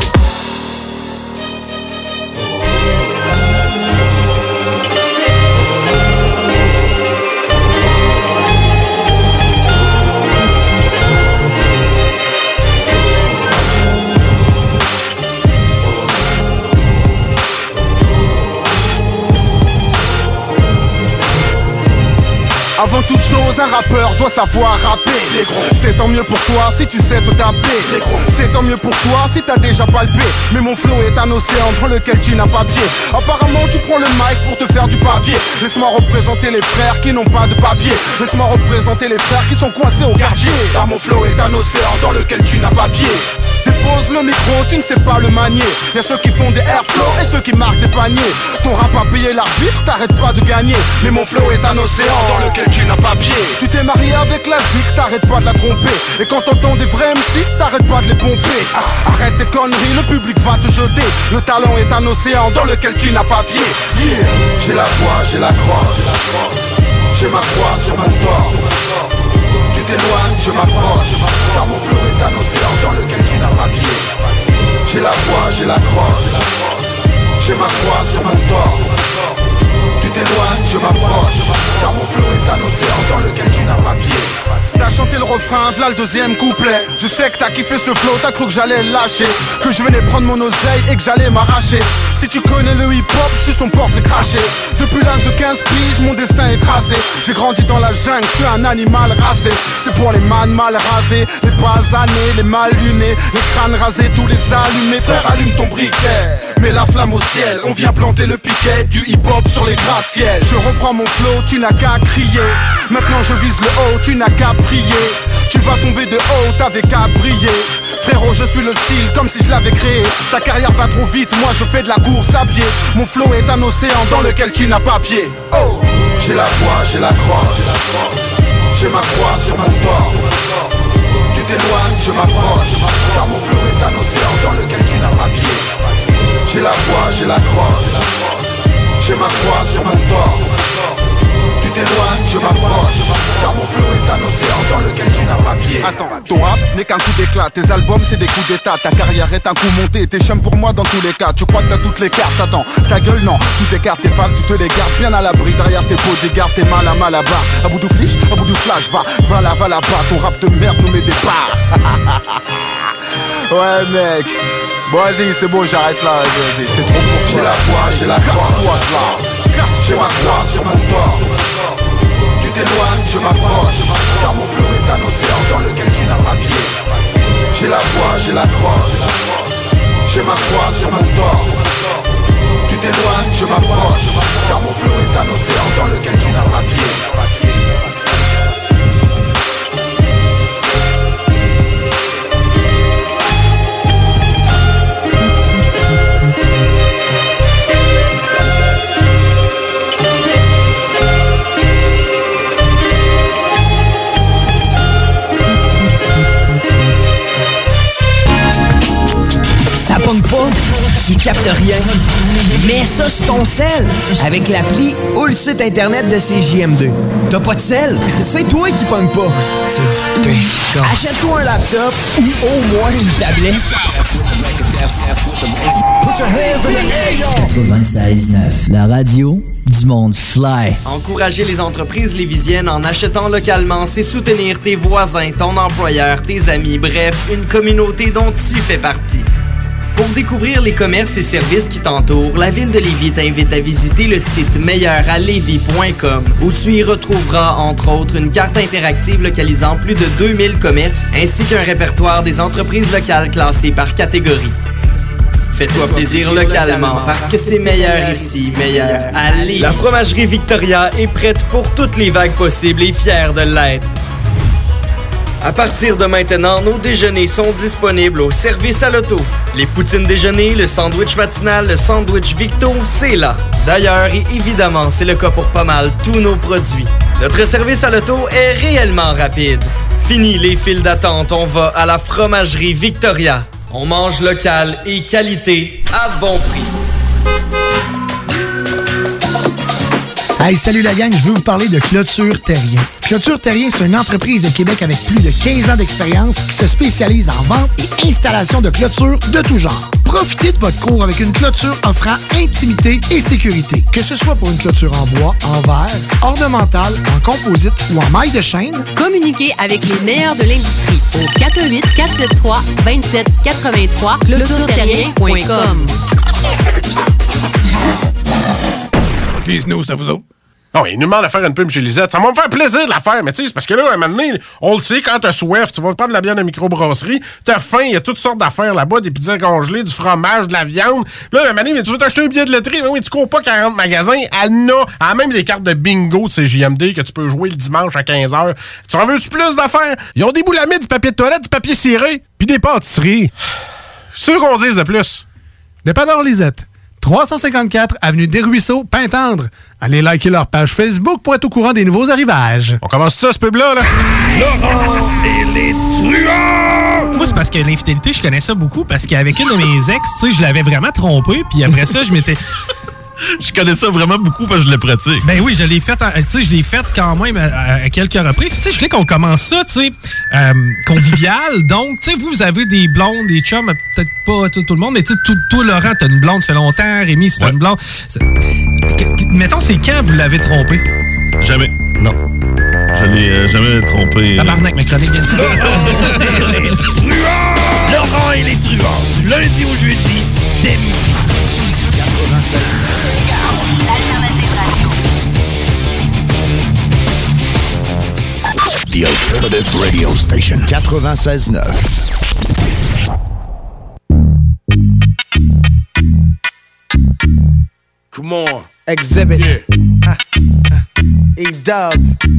Speaker 3: Avant toute chose, un rappeur doit savoir rapper. C'est tant mieux pour toi si tu sais te taper. C'est tant mieux pour toi si t'as déjà palpé. Mais mon flow est un océan dans lequel tu n'as pas pied. Apparemment tu prends le mic pour te faire du papier. Laisse-moi représenter les frères qui n'ont pas de papier. Laisse-moi représenter les frères qui sont coincés au quartier. Car mon flow est un océan dans lequel tu n'as pas pied. Dépose le micro, qui ne sait pas le manier. Y'a ceux qui font des airflow et ceux qui marquent des paniers. Ton rap a payé l'arbitre, t'arrêtes pas de gagner. Mais mon flow est un océan dans lequel tu n'as pas pied. Tu t'es marié avec la zik, t'arrêtes pas de la tromper. Et quand t'entends des vrais M C, t'arrêtes pas de les pomper. ah, Arrête tes conneries, le public va te jeter. Le talent est un océan dans lequel tu n'as pas pied. Yeah, j'ai la voix, j'ai la croix. J'ai ma croix sur mon corps. Tu t'éloignes, je m'approche. Car mon flow est un océan dans lequel tu n'as pas pied. J'ai la voix, j'ai la croix. J'ai ma croix sur mon torse. Tu t'éloignes, je m'approche. Car mon flow est un océan dans lequel tu n'as pas pied. T'as chanté le refrain, v'là le deuxième couplet. Je sais que t'as kiffé ce flow, t'as cru que j'allais le lâcher. Que je venais prendre mon oseille et que j'allais m'arracher. Si tu connais le hip-hop, je suis son porte craché. Depuis l'âge de quinze piges, mon destin est tracé. J'ai grandi dans la jungle, je suis un animal racé. C'est pour les man mal rasés, les basanés, les mal lunés, les crânes rasés, tous les allumés. Frère, allume ton briquet, mets la flamme au ciel. On vient planter le piquet du hip-hop sur les gratte-ciel. Je reprends mon flow, tu n'as qu'à crier. Maintenant je vise le haut, tu n'as qu'à prier. Tu vas tomber de haut, t'avais qu'à briller. Frérot, je suis le style comme si je l'avais créé. Ta carrière va trop vite, moi je fais de la course à pied. Mon flow est un océan dans lequel tu n'as pas pied. Oh, j'ai la foi, j'ai la croix. J'ai ma croix sur mon corps. Tu t'éloignes, je m'approche. Car mon flow est un océan dans lequel tu n'as pas pied. J'ai la foi, j'ai la croix. J'ai ma croix sur mon corps. Tu t'éloignes, je m'approche. Car mon flow est un océan dans lequel tu n'as pas pied. Attends, ton rap n'est qu'un coup d'éclat. Tes albums c'est des coups d'état. Ta carrière est un coup monté. T'es chum pour moi dans tous les cas. Tu crois que t'as toutes les cartes. Attends, ta gueule non. Toutes les cartes t'effaces, tu te les gardes bien à l'abri. Derrière tes bodyguards, t'es mal à mal à bas. À bout de fliche, à bout de flash. Va, va là, va là-bas. Ton rap de merde nous met des barres. Ouais mec. Bon vas-y, c'est bon, j'arrête là. Vas-y, c'est trop pour toi. J'ai la foi, j'ai la croix. J'ai ma croix sur mon corps. Tu t'éloignes, je m'approche. Car mon flow est un océan dans lequel tu n'as pas pied. J'ai la foi, j'ai la croix. J'ai ma croix sur mon corps. Tu t'éloignes, je m'approche. Car mon flow est un océan dans lequel tu n'as pas pied.
Speaker 1: Ça pogne pas, il capte rien. Mets ça sur ton sel avec l'appli ou le site internet de C J M deux. T'as pas de sel? C'est toi qui pogne pas. Achète-toi un laptop ou au moins une tablette.
Speaker 7: quatre-vingt-seize neuf, la radio du monde fly.
Speaker 10: Encourager les entreprises lévisiennes en achetant localement, c'est soutenir tes voisins, ton employeur, tes amis, bref, une communauté dont tu fais partie. Pour découvrir les commerces et services qui t'entourent, la Ville de Lévis t'invite à visiter le site meilleur à lévis point com où tu y retrouveras, entre autres, une carte interactive localisant plus de deux mille commerces ainsi qu'un répertoire des entreprises locales classées par catégorie. Fais-toi plaisir localement parce que c'est meilleur ici, meilleur à Lévis. La fromagerie Victoria est prête pour toutes les vagues possibles et fière de l'être. À partir de maintenant, nos déjeuners sont disponibles au service à l'auto. Les poutines déjeuner, le sandwich matinal, le sandwich Victo, c'est là. D'ailleurs, et évidemment, c'est le cas pour pas mal tous nos produits. Notre service à l'auto est réellement rapide. Fini les files d'attente, on va à la fromagerie Victoria. On mange local et qualité à bon prix.
Speaker 5: Hey, salut la gang, je veux vous parler de Clôture Terrien. Clôture Terrien, c'est une entreprise de Québec avec plus de quinze ans d'expérience qui se spécialise en vente et installation de clôtures de tout genre. Profitez de votre cour avec une clôture offrant intimité et sécurité. Que ce soit pour une clôture en bois, en verre, ornementale, en composite ou en maille de chaîne,
Speaker 19: communiquez avec les meilleurs de l'industrie au quatre un huit, quatre sept trois, deux sept huit trois, clôture terrien point com.
Speaker 18: OK, Snow, c'est à vous autres. Oh, il nous demande de faire une pub chez Lisette. Ça va me faire plaisir de la faire, mais tu sais, c'est parce que là, à un moment donné, on le sait, quand t'as soif, tu vas prendre de la bière de microbrasserie, t'as faim, il y a toutes sortes d'affaires là-bas, des pizzas congelées, du fromage, de la viande. Là, à un moment donné, tu veux t'acheter un billet de loterie, mais oui, tu cours pas quarante magasins, elle a, elle même des cartes de bingo de C J M D que tu peux jouer le dimanche à quinze heures. Tu en veux-tu plus d'affaires? Ils ont des boulamides, du papier de toilette, du papier ciré, puis des pâtisseries. C'est sûr qu'on dise de plus.
Speaker 20: Dépanneur Lisette. trois cent cinquante-quatre avenue des Ruisseaux, Pintendre. Allez liker leur page Facebook pour être au courant des nouveaux arrivages.
Speaker 18: On commence ça, ce pub-là, là?
Speaker 20: Laurent et les truands!
Speaker 22: Moi, c'est parce que l'infidélité, je connais ça beaucoup, parce qu'avec une de mes ex, tu sais, je l'avais vraiment trompé, puis après ça, je m'étais...
Speaker 24: Je connais ça vraiment beaucoup parce que je le pratique.
Speaker 22: Ben oui, je l'ai fait, tu sais, je l'ai fait quand même à, à quelques reprises. Tu sais, je voulais qu'on commence ça, tu sais, euh, convivial. Donc, tu sais, vous, vous avez des blondes, des chums, peut-être pas tout, tout le monde, mais tu sais, toi, Laurent, t'as une blonde, ça fait longtemps. Rémi, c'est ouais. une blonde. C'est... Mettons, c'est quand vous l'avez trompé?
Speaker 24: Jamais. Non. Je l'ai euh, jamais trompé.
Speaker 22: Tabarnak, ma chronique vient de
Speaker 15: Laurent et les truands! Laurent et les truands, du lundi au jeudi, dès midi.
Speaker 5: Alternative Radio Station quatre-vingt-seize neuf.
Speaker 14: Come on.
Speaker 4: Exhibit.
Speaker 14: Yeah.
Speaker 4: E-Dub.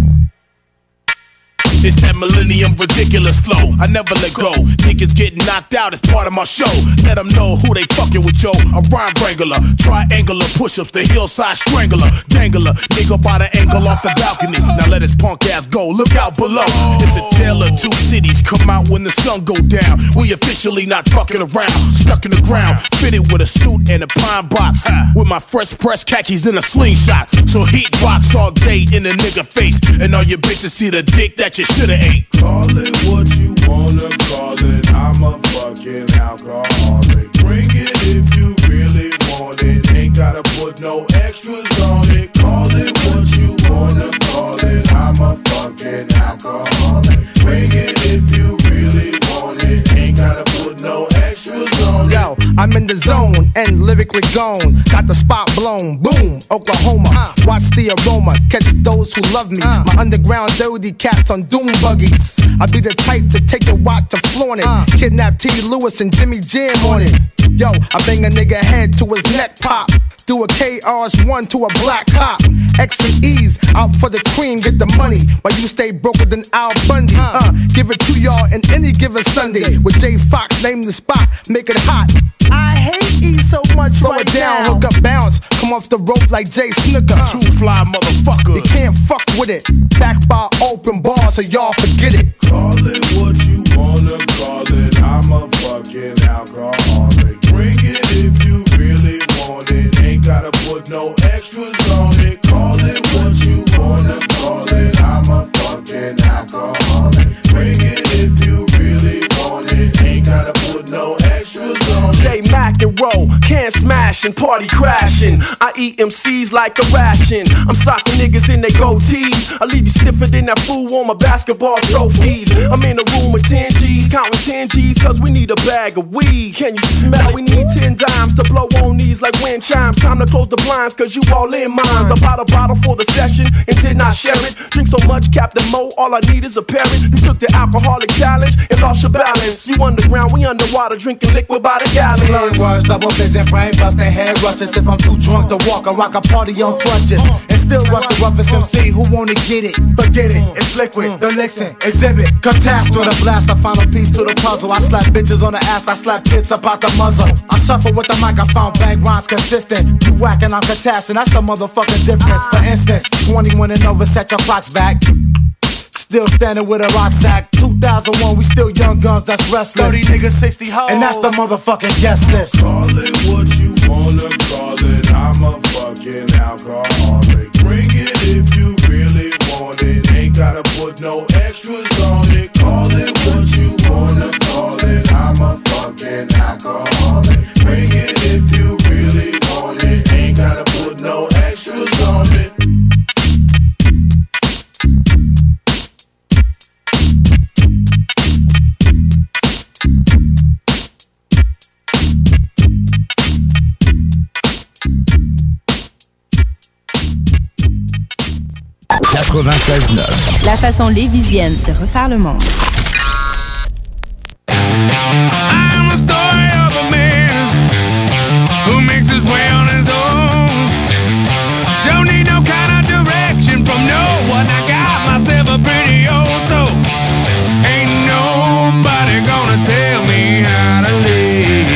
Speaker 14: It's that millennium ridiculous flow. I never let go. Niggas getting knocked out as part of my show. Let them know who they fucking with, yo. A rhyme wrangler, triangular push-ups, the hillside strangler, dangler, nigga by the angle off the balcony. Now let his punk ass go. Look out below. It's a tale of two cities. Come out when the sun go down. We officially not fucking around. Stuck in the ground, fitted with a suit and a pine box. With my fresh press khakis in a slingshot. So heat box all day in a nigga face. And all your bitches see the dick that you shoulda ate.
Speaker 6: Call it what you wanna call it. I'm a fucking alcoholic. Bring it if you really want it. Ain't gotta put no extras on it. Call it what you wanna call it. I'm a fucking alcoholic. Bring it if you really want it. Ain't gotta put no extras on it.
Speaker 4: Yo, I'm in the zone and lyrically gone. Got the spot blown. Boom, Oklahoma. Uh, watch the aroma. Catch those who love me. Uh, My underground dirty cats on doom buggies. I be the type to take your watch to flaunt it. Uh, Kidnap T. Lewis and Jimmy Jam on it. Yo, I bang a nigga head to his neck pop. Do a K R's one to a black cop. X and E's out for the cream, get the money. While you stay broker than Al Bundy. Uh, give it to y'all in any given Sunday. With Jay Fox, name the spot, make it hot. I hate E so much. Slow right it down, now. Hook up, bounce. Come off the rope like Jay Snooker. Uh,
Speaker 14: Two fly motherfuckers.
Speaker 4: You can't fuck with it. Back by open bar, so y'all forget it.
Speaker 6: Call it what you wanna call it. I'm a fucking alcoholic. Bring it if you really want it. Ain't gotta put no extras on it. Call it what you wanna call it. I'm a fucking alcoholic. Bring it if you really want it. Ain't gotta put no extras on it.
Speaker 8: J Mac and roll, can't smash and party crashing. I eat M Cs like a ration. I'm socking niggas in they goatees. I leave you stiffer than that fool on my basketball trophies. I'm in a room with ten G's, counting ten G's, cause we need a bag of weed. Can you smell it? We need ten dimes to blow on these like wind chimes. Time to close the blinds, cause you all in mines. I bought a bottle for the session and did not share it. Drink so much, Captain Mo, all I need is a parrot. You took the alcoholic challenge and lost your balance. You underground, we underwater, drinking liquid by the gallon.
Speaker 12: Slurred words, double vision, brain busting, head rushes. If I'm too drunk to walk, I rock a party on crutches. And still rush the roughest M C who wanna get it. Forget it, it's liquid, the Nixon, exhibit. Catastrophe, the blast, I find a piece to the puzzle. I slap bitches on the ass, I slap tits up out the muzzle. I suffer with the microphone, bang rhymes consistent. You whacking, I'm catassin', that's the motherfucking difference. For instance, twenty-one and over, set your clocks back. Still standing with a rock sack. two thousand one, we still young guns, that's restless. thirty niggas, sixty hoes. And that's the motherfucking guest list.
Speaker 6: Call it what you wanna call it. I'm a fucking alcoholic. Bring it if you really want it. Ain't gotta put no extras on it. Call it what you wanna call it. I'm a fucking alcoholic. Bring it if you really want it. Ain't gotta put no extras on it.
Speaker 5: quatre-vingt-seize neuf.
Speaker 19: La façon lévisienne de refaire le monde.
Speaker 14: I'm a story of a man who makes his way on his own. Don't need no kind of direction from no one. I got myself a pretty old soul. Ain't nobody gonna tell me how to live.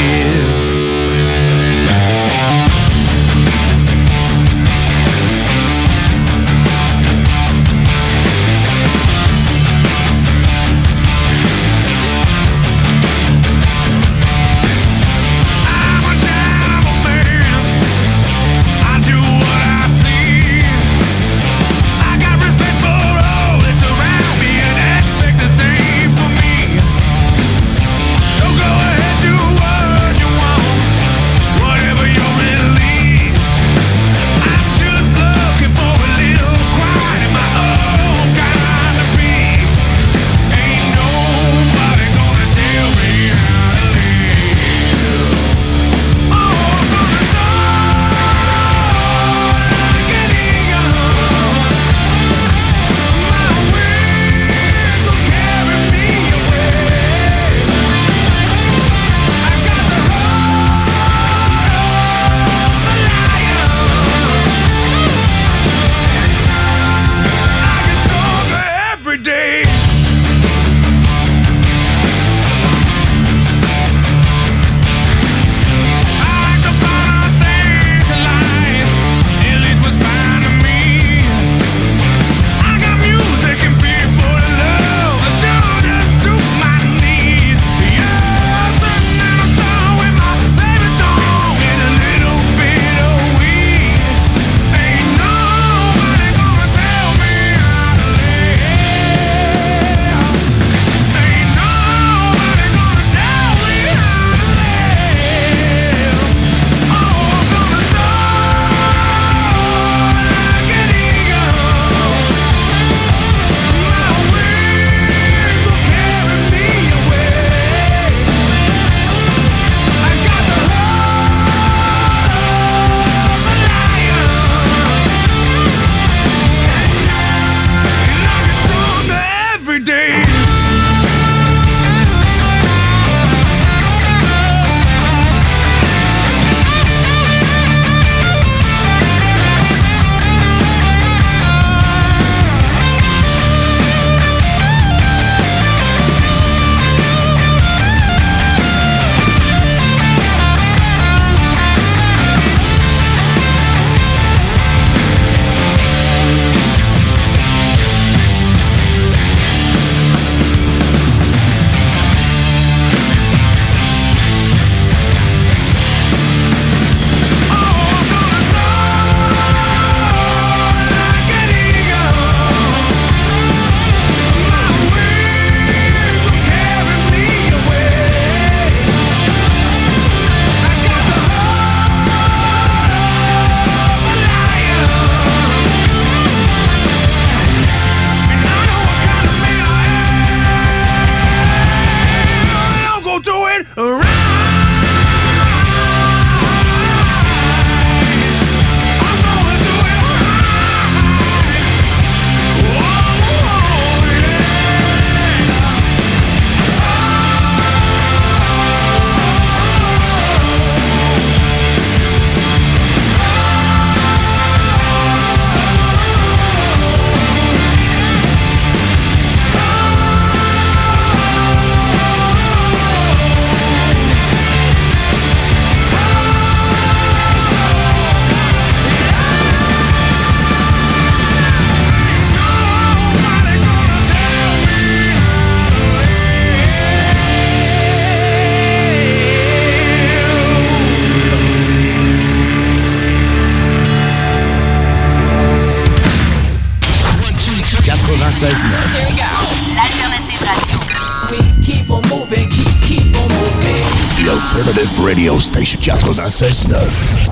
Speaker 11: quatre-vingt-seize neuf.
Speaker 19: L'alternative radio.
Speaker 15: Keep on moving, keep, keep on moving.
Speaker 11: The Alternative Radio Station quatre-vingt-seize neuf.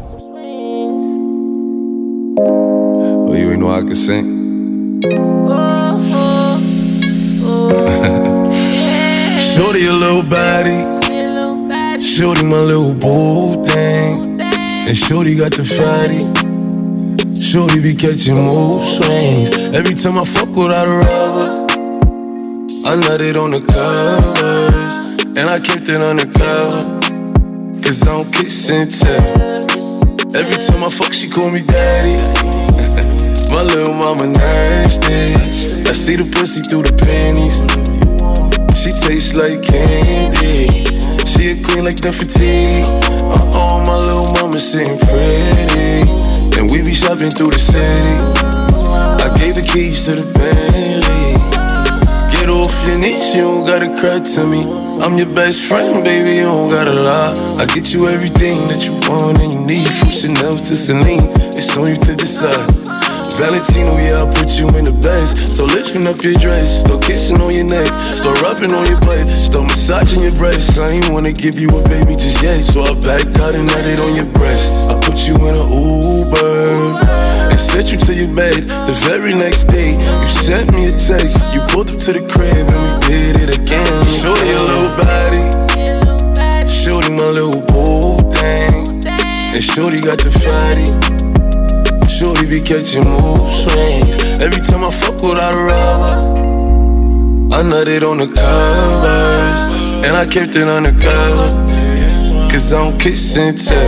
Speaker 13: Oh, you ain't know I could sing? Shorty a little body, shorty my little boo thing, and shorty got the fatty. Shorty be catching mood swings. Every time I fuck without a rubber, I nutted on the covers, and I kept it undercover, cause I don't kiss and tell. Every time I fuck, she call me daddy. My little mama nasty. I see the pussy through the panties. She tastes like candy. She a queen like Nefertiti. Uh-oh, my little mama sitting pretty, and we be shopping through the city. I gave the keys to the Bentley. Get off your niche, you don't gotta cry to me. I'm your best friend, baby, you don't gotta lie. I get you everything that you want and you need. From Chanel to Celine, it's on you to decide. Valentino, yeah, I put you in the best. So lifting up your dress, start kissing on your neck, start rubbing on your butt, start massaging your breasts. I ain't wanna give you a baby just yet, so I backed out and nutted on your breast. I put you in an Uber and sent you to your bed. The very next day, you sent me a text. You pulled up to the crib and we did it again. Shorty a little body, shorty my little boo thing, and shorty got the fatty. Shorty be catching mood swings. Every time I fuck without a rubber, I nutted on the covers, and I kept it undercover, cause I don't kiss and tell.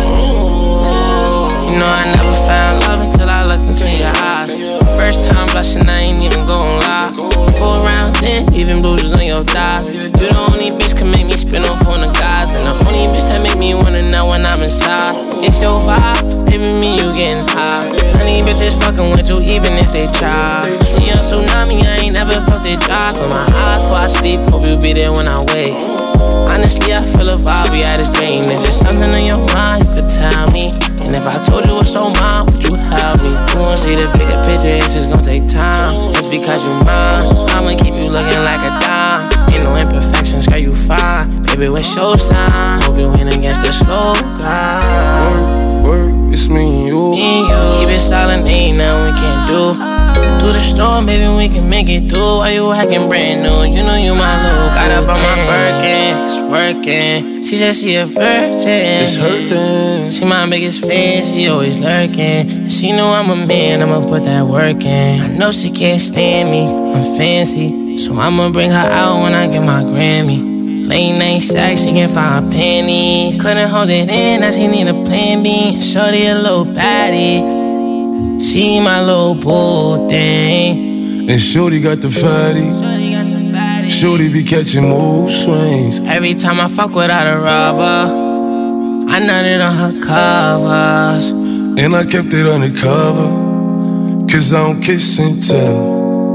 Speaker 16: You know I never found love until I looked into your eyes. First time blushing, I ain't even gon' lie. Four round ten, even bruises on your thighs. You the only bitch can make me spin off on the guys, and the only bitch that make me wanna know when I'm inside. It's your vibe, baby, me you getting high. Honey bitches fucking with you even if they try. See a tsunami, I ain't never felt it dry. Close my eyes before I sleep, hope you be there when I wake. Honestly, I feel a vibe, we at this brain. If there's something on your mind, you could tell me. And if I told you what's on mine, would you help me? You won't see the bigger picture, it's just gonna take time. Just because you mine, I'ma keep you looking like a dime. Ain't no imperfections, girl, you fine. Baby, what's your sign? Hope you win against the slow guy.
Speaker 13: Work, work, it's me and you.
Speaker 16: Me and you. Keep it silent, ain't nothing we can't do. Through the storm, baby, we can make it through. Why you acting brand new? You know you my little. Got up on my Birkin, it's working. She said she a virgin.
Speaker 13: It's hurting.
Speaker 16: She my biggest fan, she always lurking. And she know I'm a man, I'ma put that work in. I know she can't stand me, I'm fancy, so I'ma bring her out when I get my Grammy. Late night sex, she can find panties. Couldn't hold it in, now she need a plan B. Shorty a little baddie, she my little boo thing.
Speaker 13: And shorty got the fatty. Shorty be catching mood swings.
Speaker 16: Every time I fuck without a rubber, I nutted on her covers,
Speaker 13: and I kept it undercover, cause I don't kiss and tell.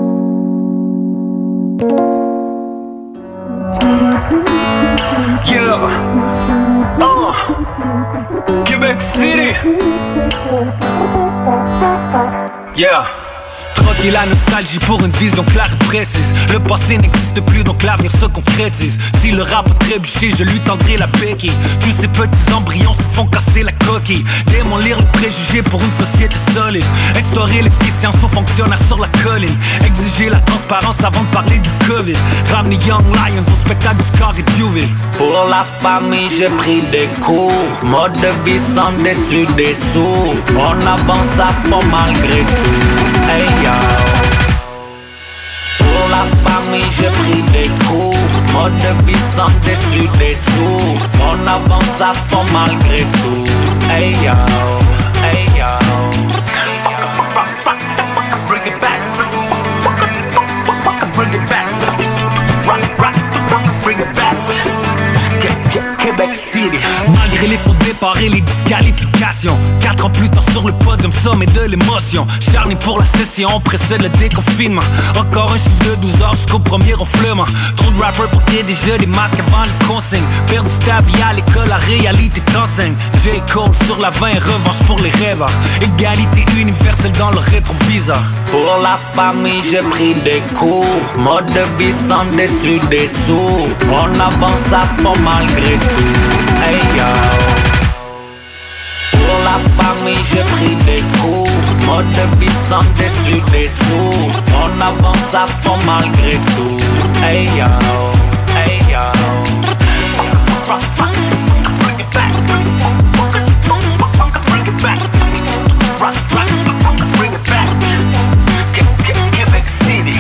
Speaker 14: Yeah, uh, Québec City. Yeah. Troquer la nostalgie pour une vision claire et précise. Le passé n'existe plus, donc l'avenir se concrétise. Si le rap a trébuché, je lui tendrai la béquille. Tous ces petits embryons se font casser la coquille. Démolir le préjugé pour une société solide. Instaurer l'efficience aux fonctionnaires sur la colline. Exiger la transparence avant de parler du Covid. Ramener Young Lions au spectacle du Scar et Duville.
Speaker 21: Pour la famille, j'ai pris des cours. Mode de vie sans dessus dessous. On avance à fond malgré tout. Hey yo. Pour la famille, j'ai pris des cours. Mode de vie sans dessus dessous. On avance à fond malgré tout. Hey yo, hey yo. Bring it back. Bring it back. Rock, rock, bring it back. Québec City. Malgré les fautes des préparer les disqualifications. Quatre ans plus tard sur le podium, sommet de l'émotion. Charny pour la session, précède le déconfinement. Encore un chiffre de douze heures jusqu'au premier ronflement. Trop de rappers pour qu'il y ait déjà des masques avant les consignes. Perdu ta vie à l'école, la réalité t'enseigne. J. Cole sur la vingt, revanche pour les rêveurs. Égalité universelle dans le rétroviseur. Pour la famille, j'ai pris des cours. Mode de vie sans dessus dessous. On avance à fond malgré tout. Hey yo. Pour la famille, j'ai pris des cours. Mode de vie sans dessus dessous. On avance à fond malgré tout. Hey yo. Hey yo. Fuck, fuck, fuck, fuck. Bring it back. Bring it back. Rock, rock, bring it back. Quebec City.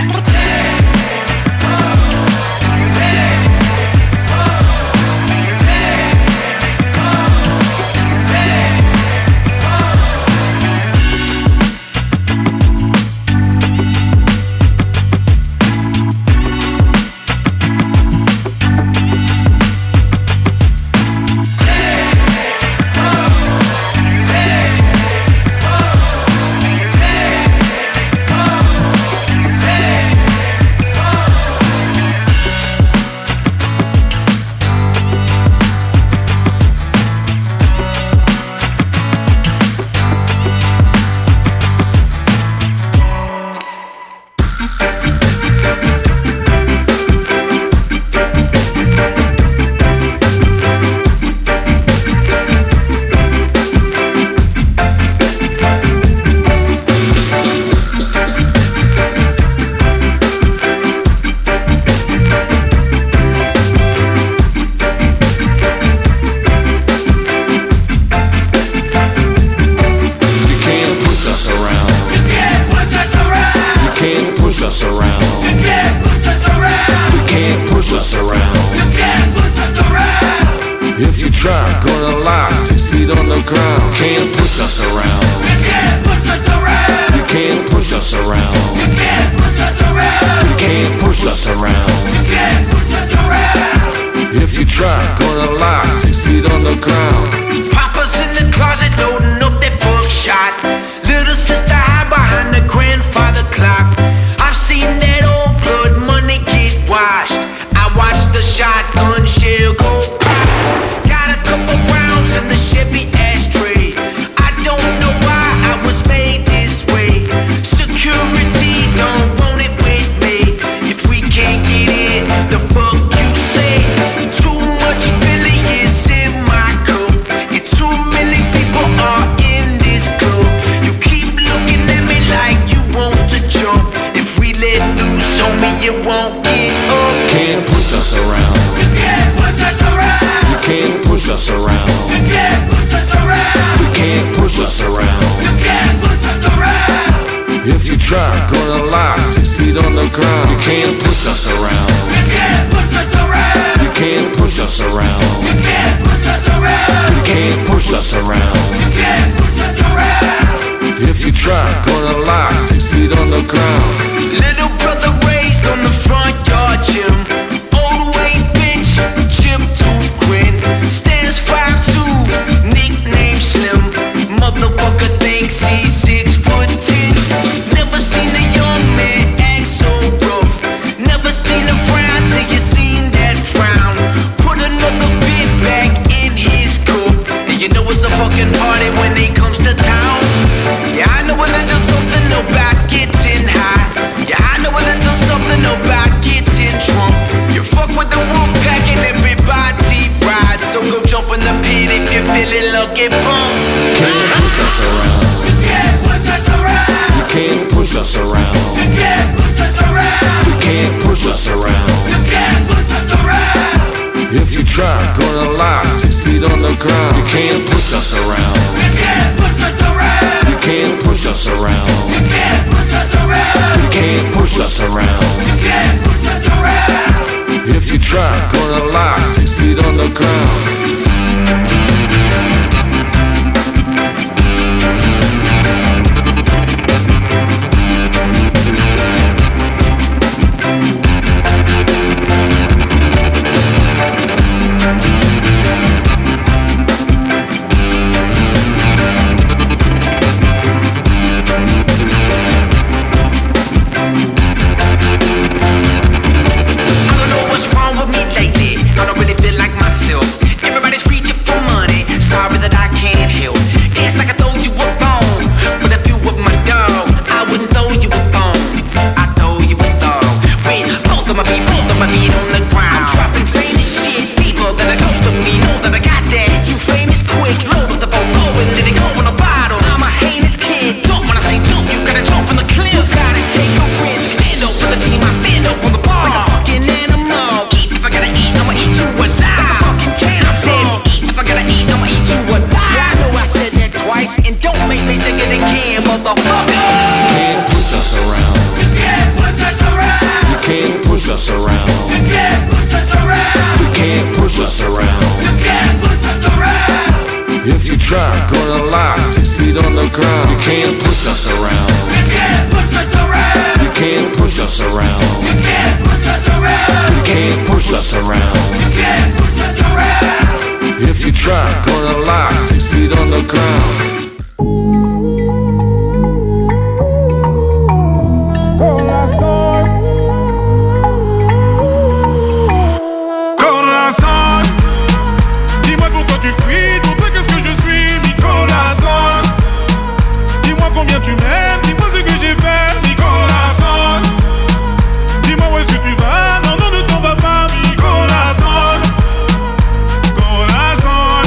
Speaker 15: motherfucker.
Speaker 14: Can't push us around.
Speaker 15: You can't push us around.
Speaker 14: You can't push us around.
Speaker 15: You can't push us around.
Speaker 14: You can't push us around.
Speaker 15: You can't push us around.
Speaker 14: If you try, gonna lie, six feet on the ground. You can't push us around.
Speaker 15: You can't push us around.
Speaker 14: You can't push us around.
Speaker 15: You can't push us around.
Speaker 14: You can't push us around.
Speaker 15: You can't push us around.
Speaker 14: If you try, gonna lie, six feet on the ground.
Speaker 6: Dis-moi pourquoi tu fuis, pour toi qu'est-ce que je suis, Nicolas Son. Dis-moi combien tu m'aimes, dis-moi ce que j'ai fait, Nicolas Son. Dis-moi où est-ce que tu vas, non, non, ne t'en vas pas, Nicolas Son. Nicolas Son.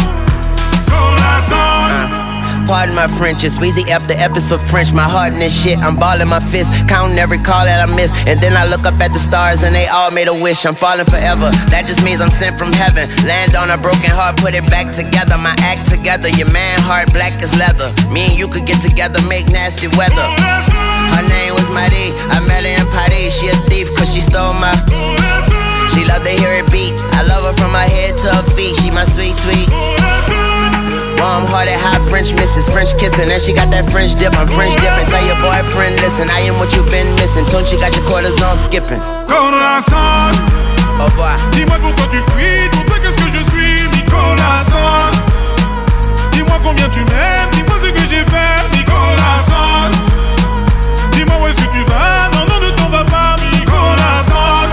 Speaker 6: Nicolas Son.
Speaker 2: Pardon my French, it's Weezy F, the F is for French. My heart in this shit, I'm balling my fist, counting every call that I miss. And then I look up at the stars and they all made a wish. I'm falling forever, that just means I'm sent from heaven. Land on a broken heart, put it back together. My act together, your man heart black as leather. Me and you could get together, make nasty weather. Her name was Marie, I met her in Paris. She a thief cause she stole my. She love to hear it beat, I love her from her head to her feet. She my sweet, sweet warm-hearted, hot French missus, French kissing, and she got that French dip. I'm French dipping. Tell your boyfriend, listen, I am what you've been missing. Tunchi got your quarters on skipping.
Speaker 6: Nicolas Son.
Speaker 2: Au revoir.
Speaker 6: Dis-moi pourquoi tu fuis, pour toi qu'est-ce que je suis, Nicolas Son. Dis-moi combien tu m'aimes, dis-moi ce que j'ai fait, Nicolas Son. Dis-moi où est-ce que tu vas, non, non, ne t'en vas pas, Nicolas Son.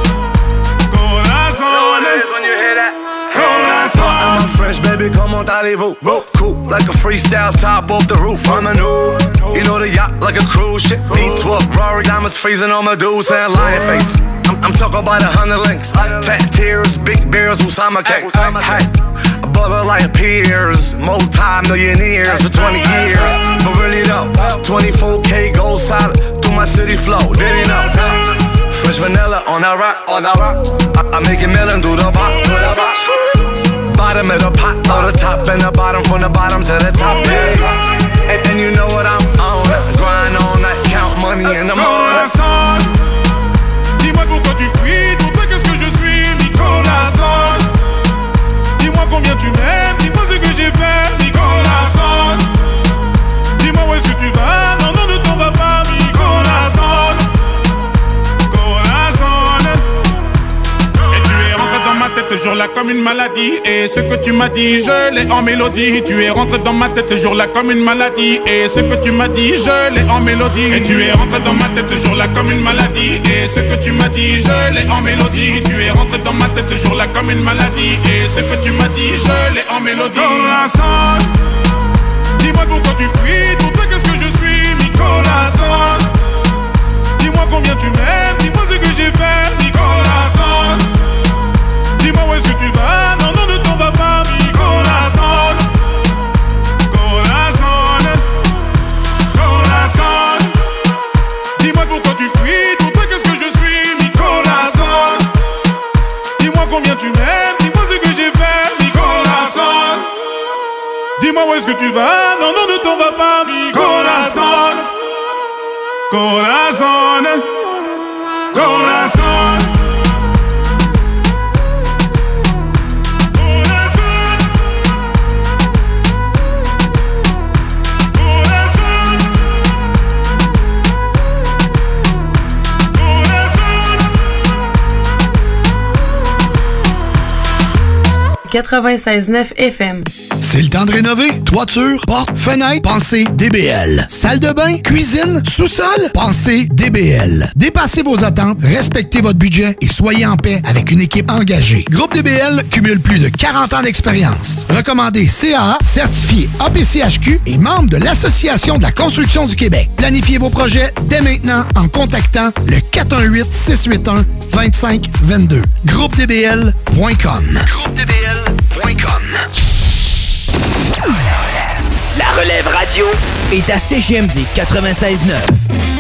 Speaker 6: Nicolas Son.
Speaker 14: When you hear that.
Speaker 6: Nicolas Son.
Speaker 14: I'm fresh, baby, comment allez-vous? Cool, like a freestyle top off the roof. I'm a new, you know the yacht like a cruise ship. V twelve, Rory diamonds freezing on Medusa and lion face. I'm, I'm talking about a hundred links, tat tears, big bears, Usama cake. Hey, a brother like peers, multi-millionaires for twenty years. But really though, twenty-four K gold solid through my city flow. Did he know? Fresh vanilla on that rock, on that rock. I, I make it melon through the box. Bottom of the pot, or the top and the bottom, from the bottom to the top, yeah. And, and you know what I'm on, grind on that, count money in the morning.
Speaker 6: Nicolas Son. Dis-moi pourquoi tu fuis, pour toi qu'est-ce que je suis, Nicolas Son. Dis-moi combien tu m'aimes, dis-moi ce que j'ai fait, Nicolas Son. Dis-moi où est-ce que tu vas, non, non, ne t'en vas pas, Nicolas Son. Nicolas Son. Et tu es rentré dans ma tête ce jour-là comme une maladie. Et ce que tu m'as dit, je l'ai en mélodie. Tu es rentré dans ma tête ce jour-là comme une maladie. Et ce que tu m'as dit, je l'ai en mélodie. Et tu es rentré dans ma tête ce jour-là comme une maladie. Et ce que tu m'as dit, je l'ai en mélodie. Tu es rentré dans ma tête ce jour-là comme une maladie. Et ce que tu m'as dit, je l'ai en mélodie. Nicolas Son. Dis-moi pourquoi tu fuis, pour toi qu'est-ce que je suis, Nicolas Son. Dis-moi combien tu m'aimes, dis-moi ce que j'ai fait, Nicolas Son. Dis-moi où est-ce que tu vas, non, non, ne t'en vas pas, Nicolas Son. Nicolas Son. Nicolas Son. Dis-moi pourquoi tu fuis, pour toi qu'est-ce que je suis, Nicolas Son. Dis-moi combien tu m'aimes, dis-moi ce que j'ai fait, Nicolas Son. Dis-moi où est-ce que tu vas, non, non, ne t'en vas pas, Nicolas Son. Nicolas Son. Nicolas Son.
Speaker 19: quatre-vingt-seize neuf F M.
Speaker 5: C'est le temps de rénover. Toiture, porte, fenêtre, pensez D B L. Salle de bain, cuisine, sous-sol, pensez D B L. Dépassez vos attentes, respectez votre budget et soyez en paix avec une équipe engagée. Groupe D B L cumule plus de quarante ans d'expérience. Recommandé C A A, certifié A P C H Q et membre de l'Association de la construction du Québec. Planifiez vos projets dès maintenant en contactant le quatre un huit, six huit un, deux cinq deux deux. groupe d b l point com. groupe d b l point com.
Speaker 1: La relève radio est à C G M D quatre-vingt-seize neuf.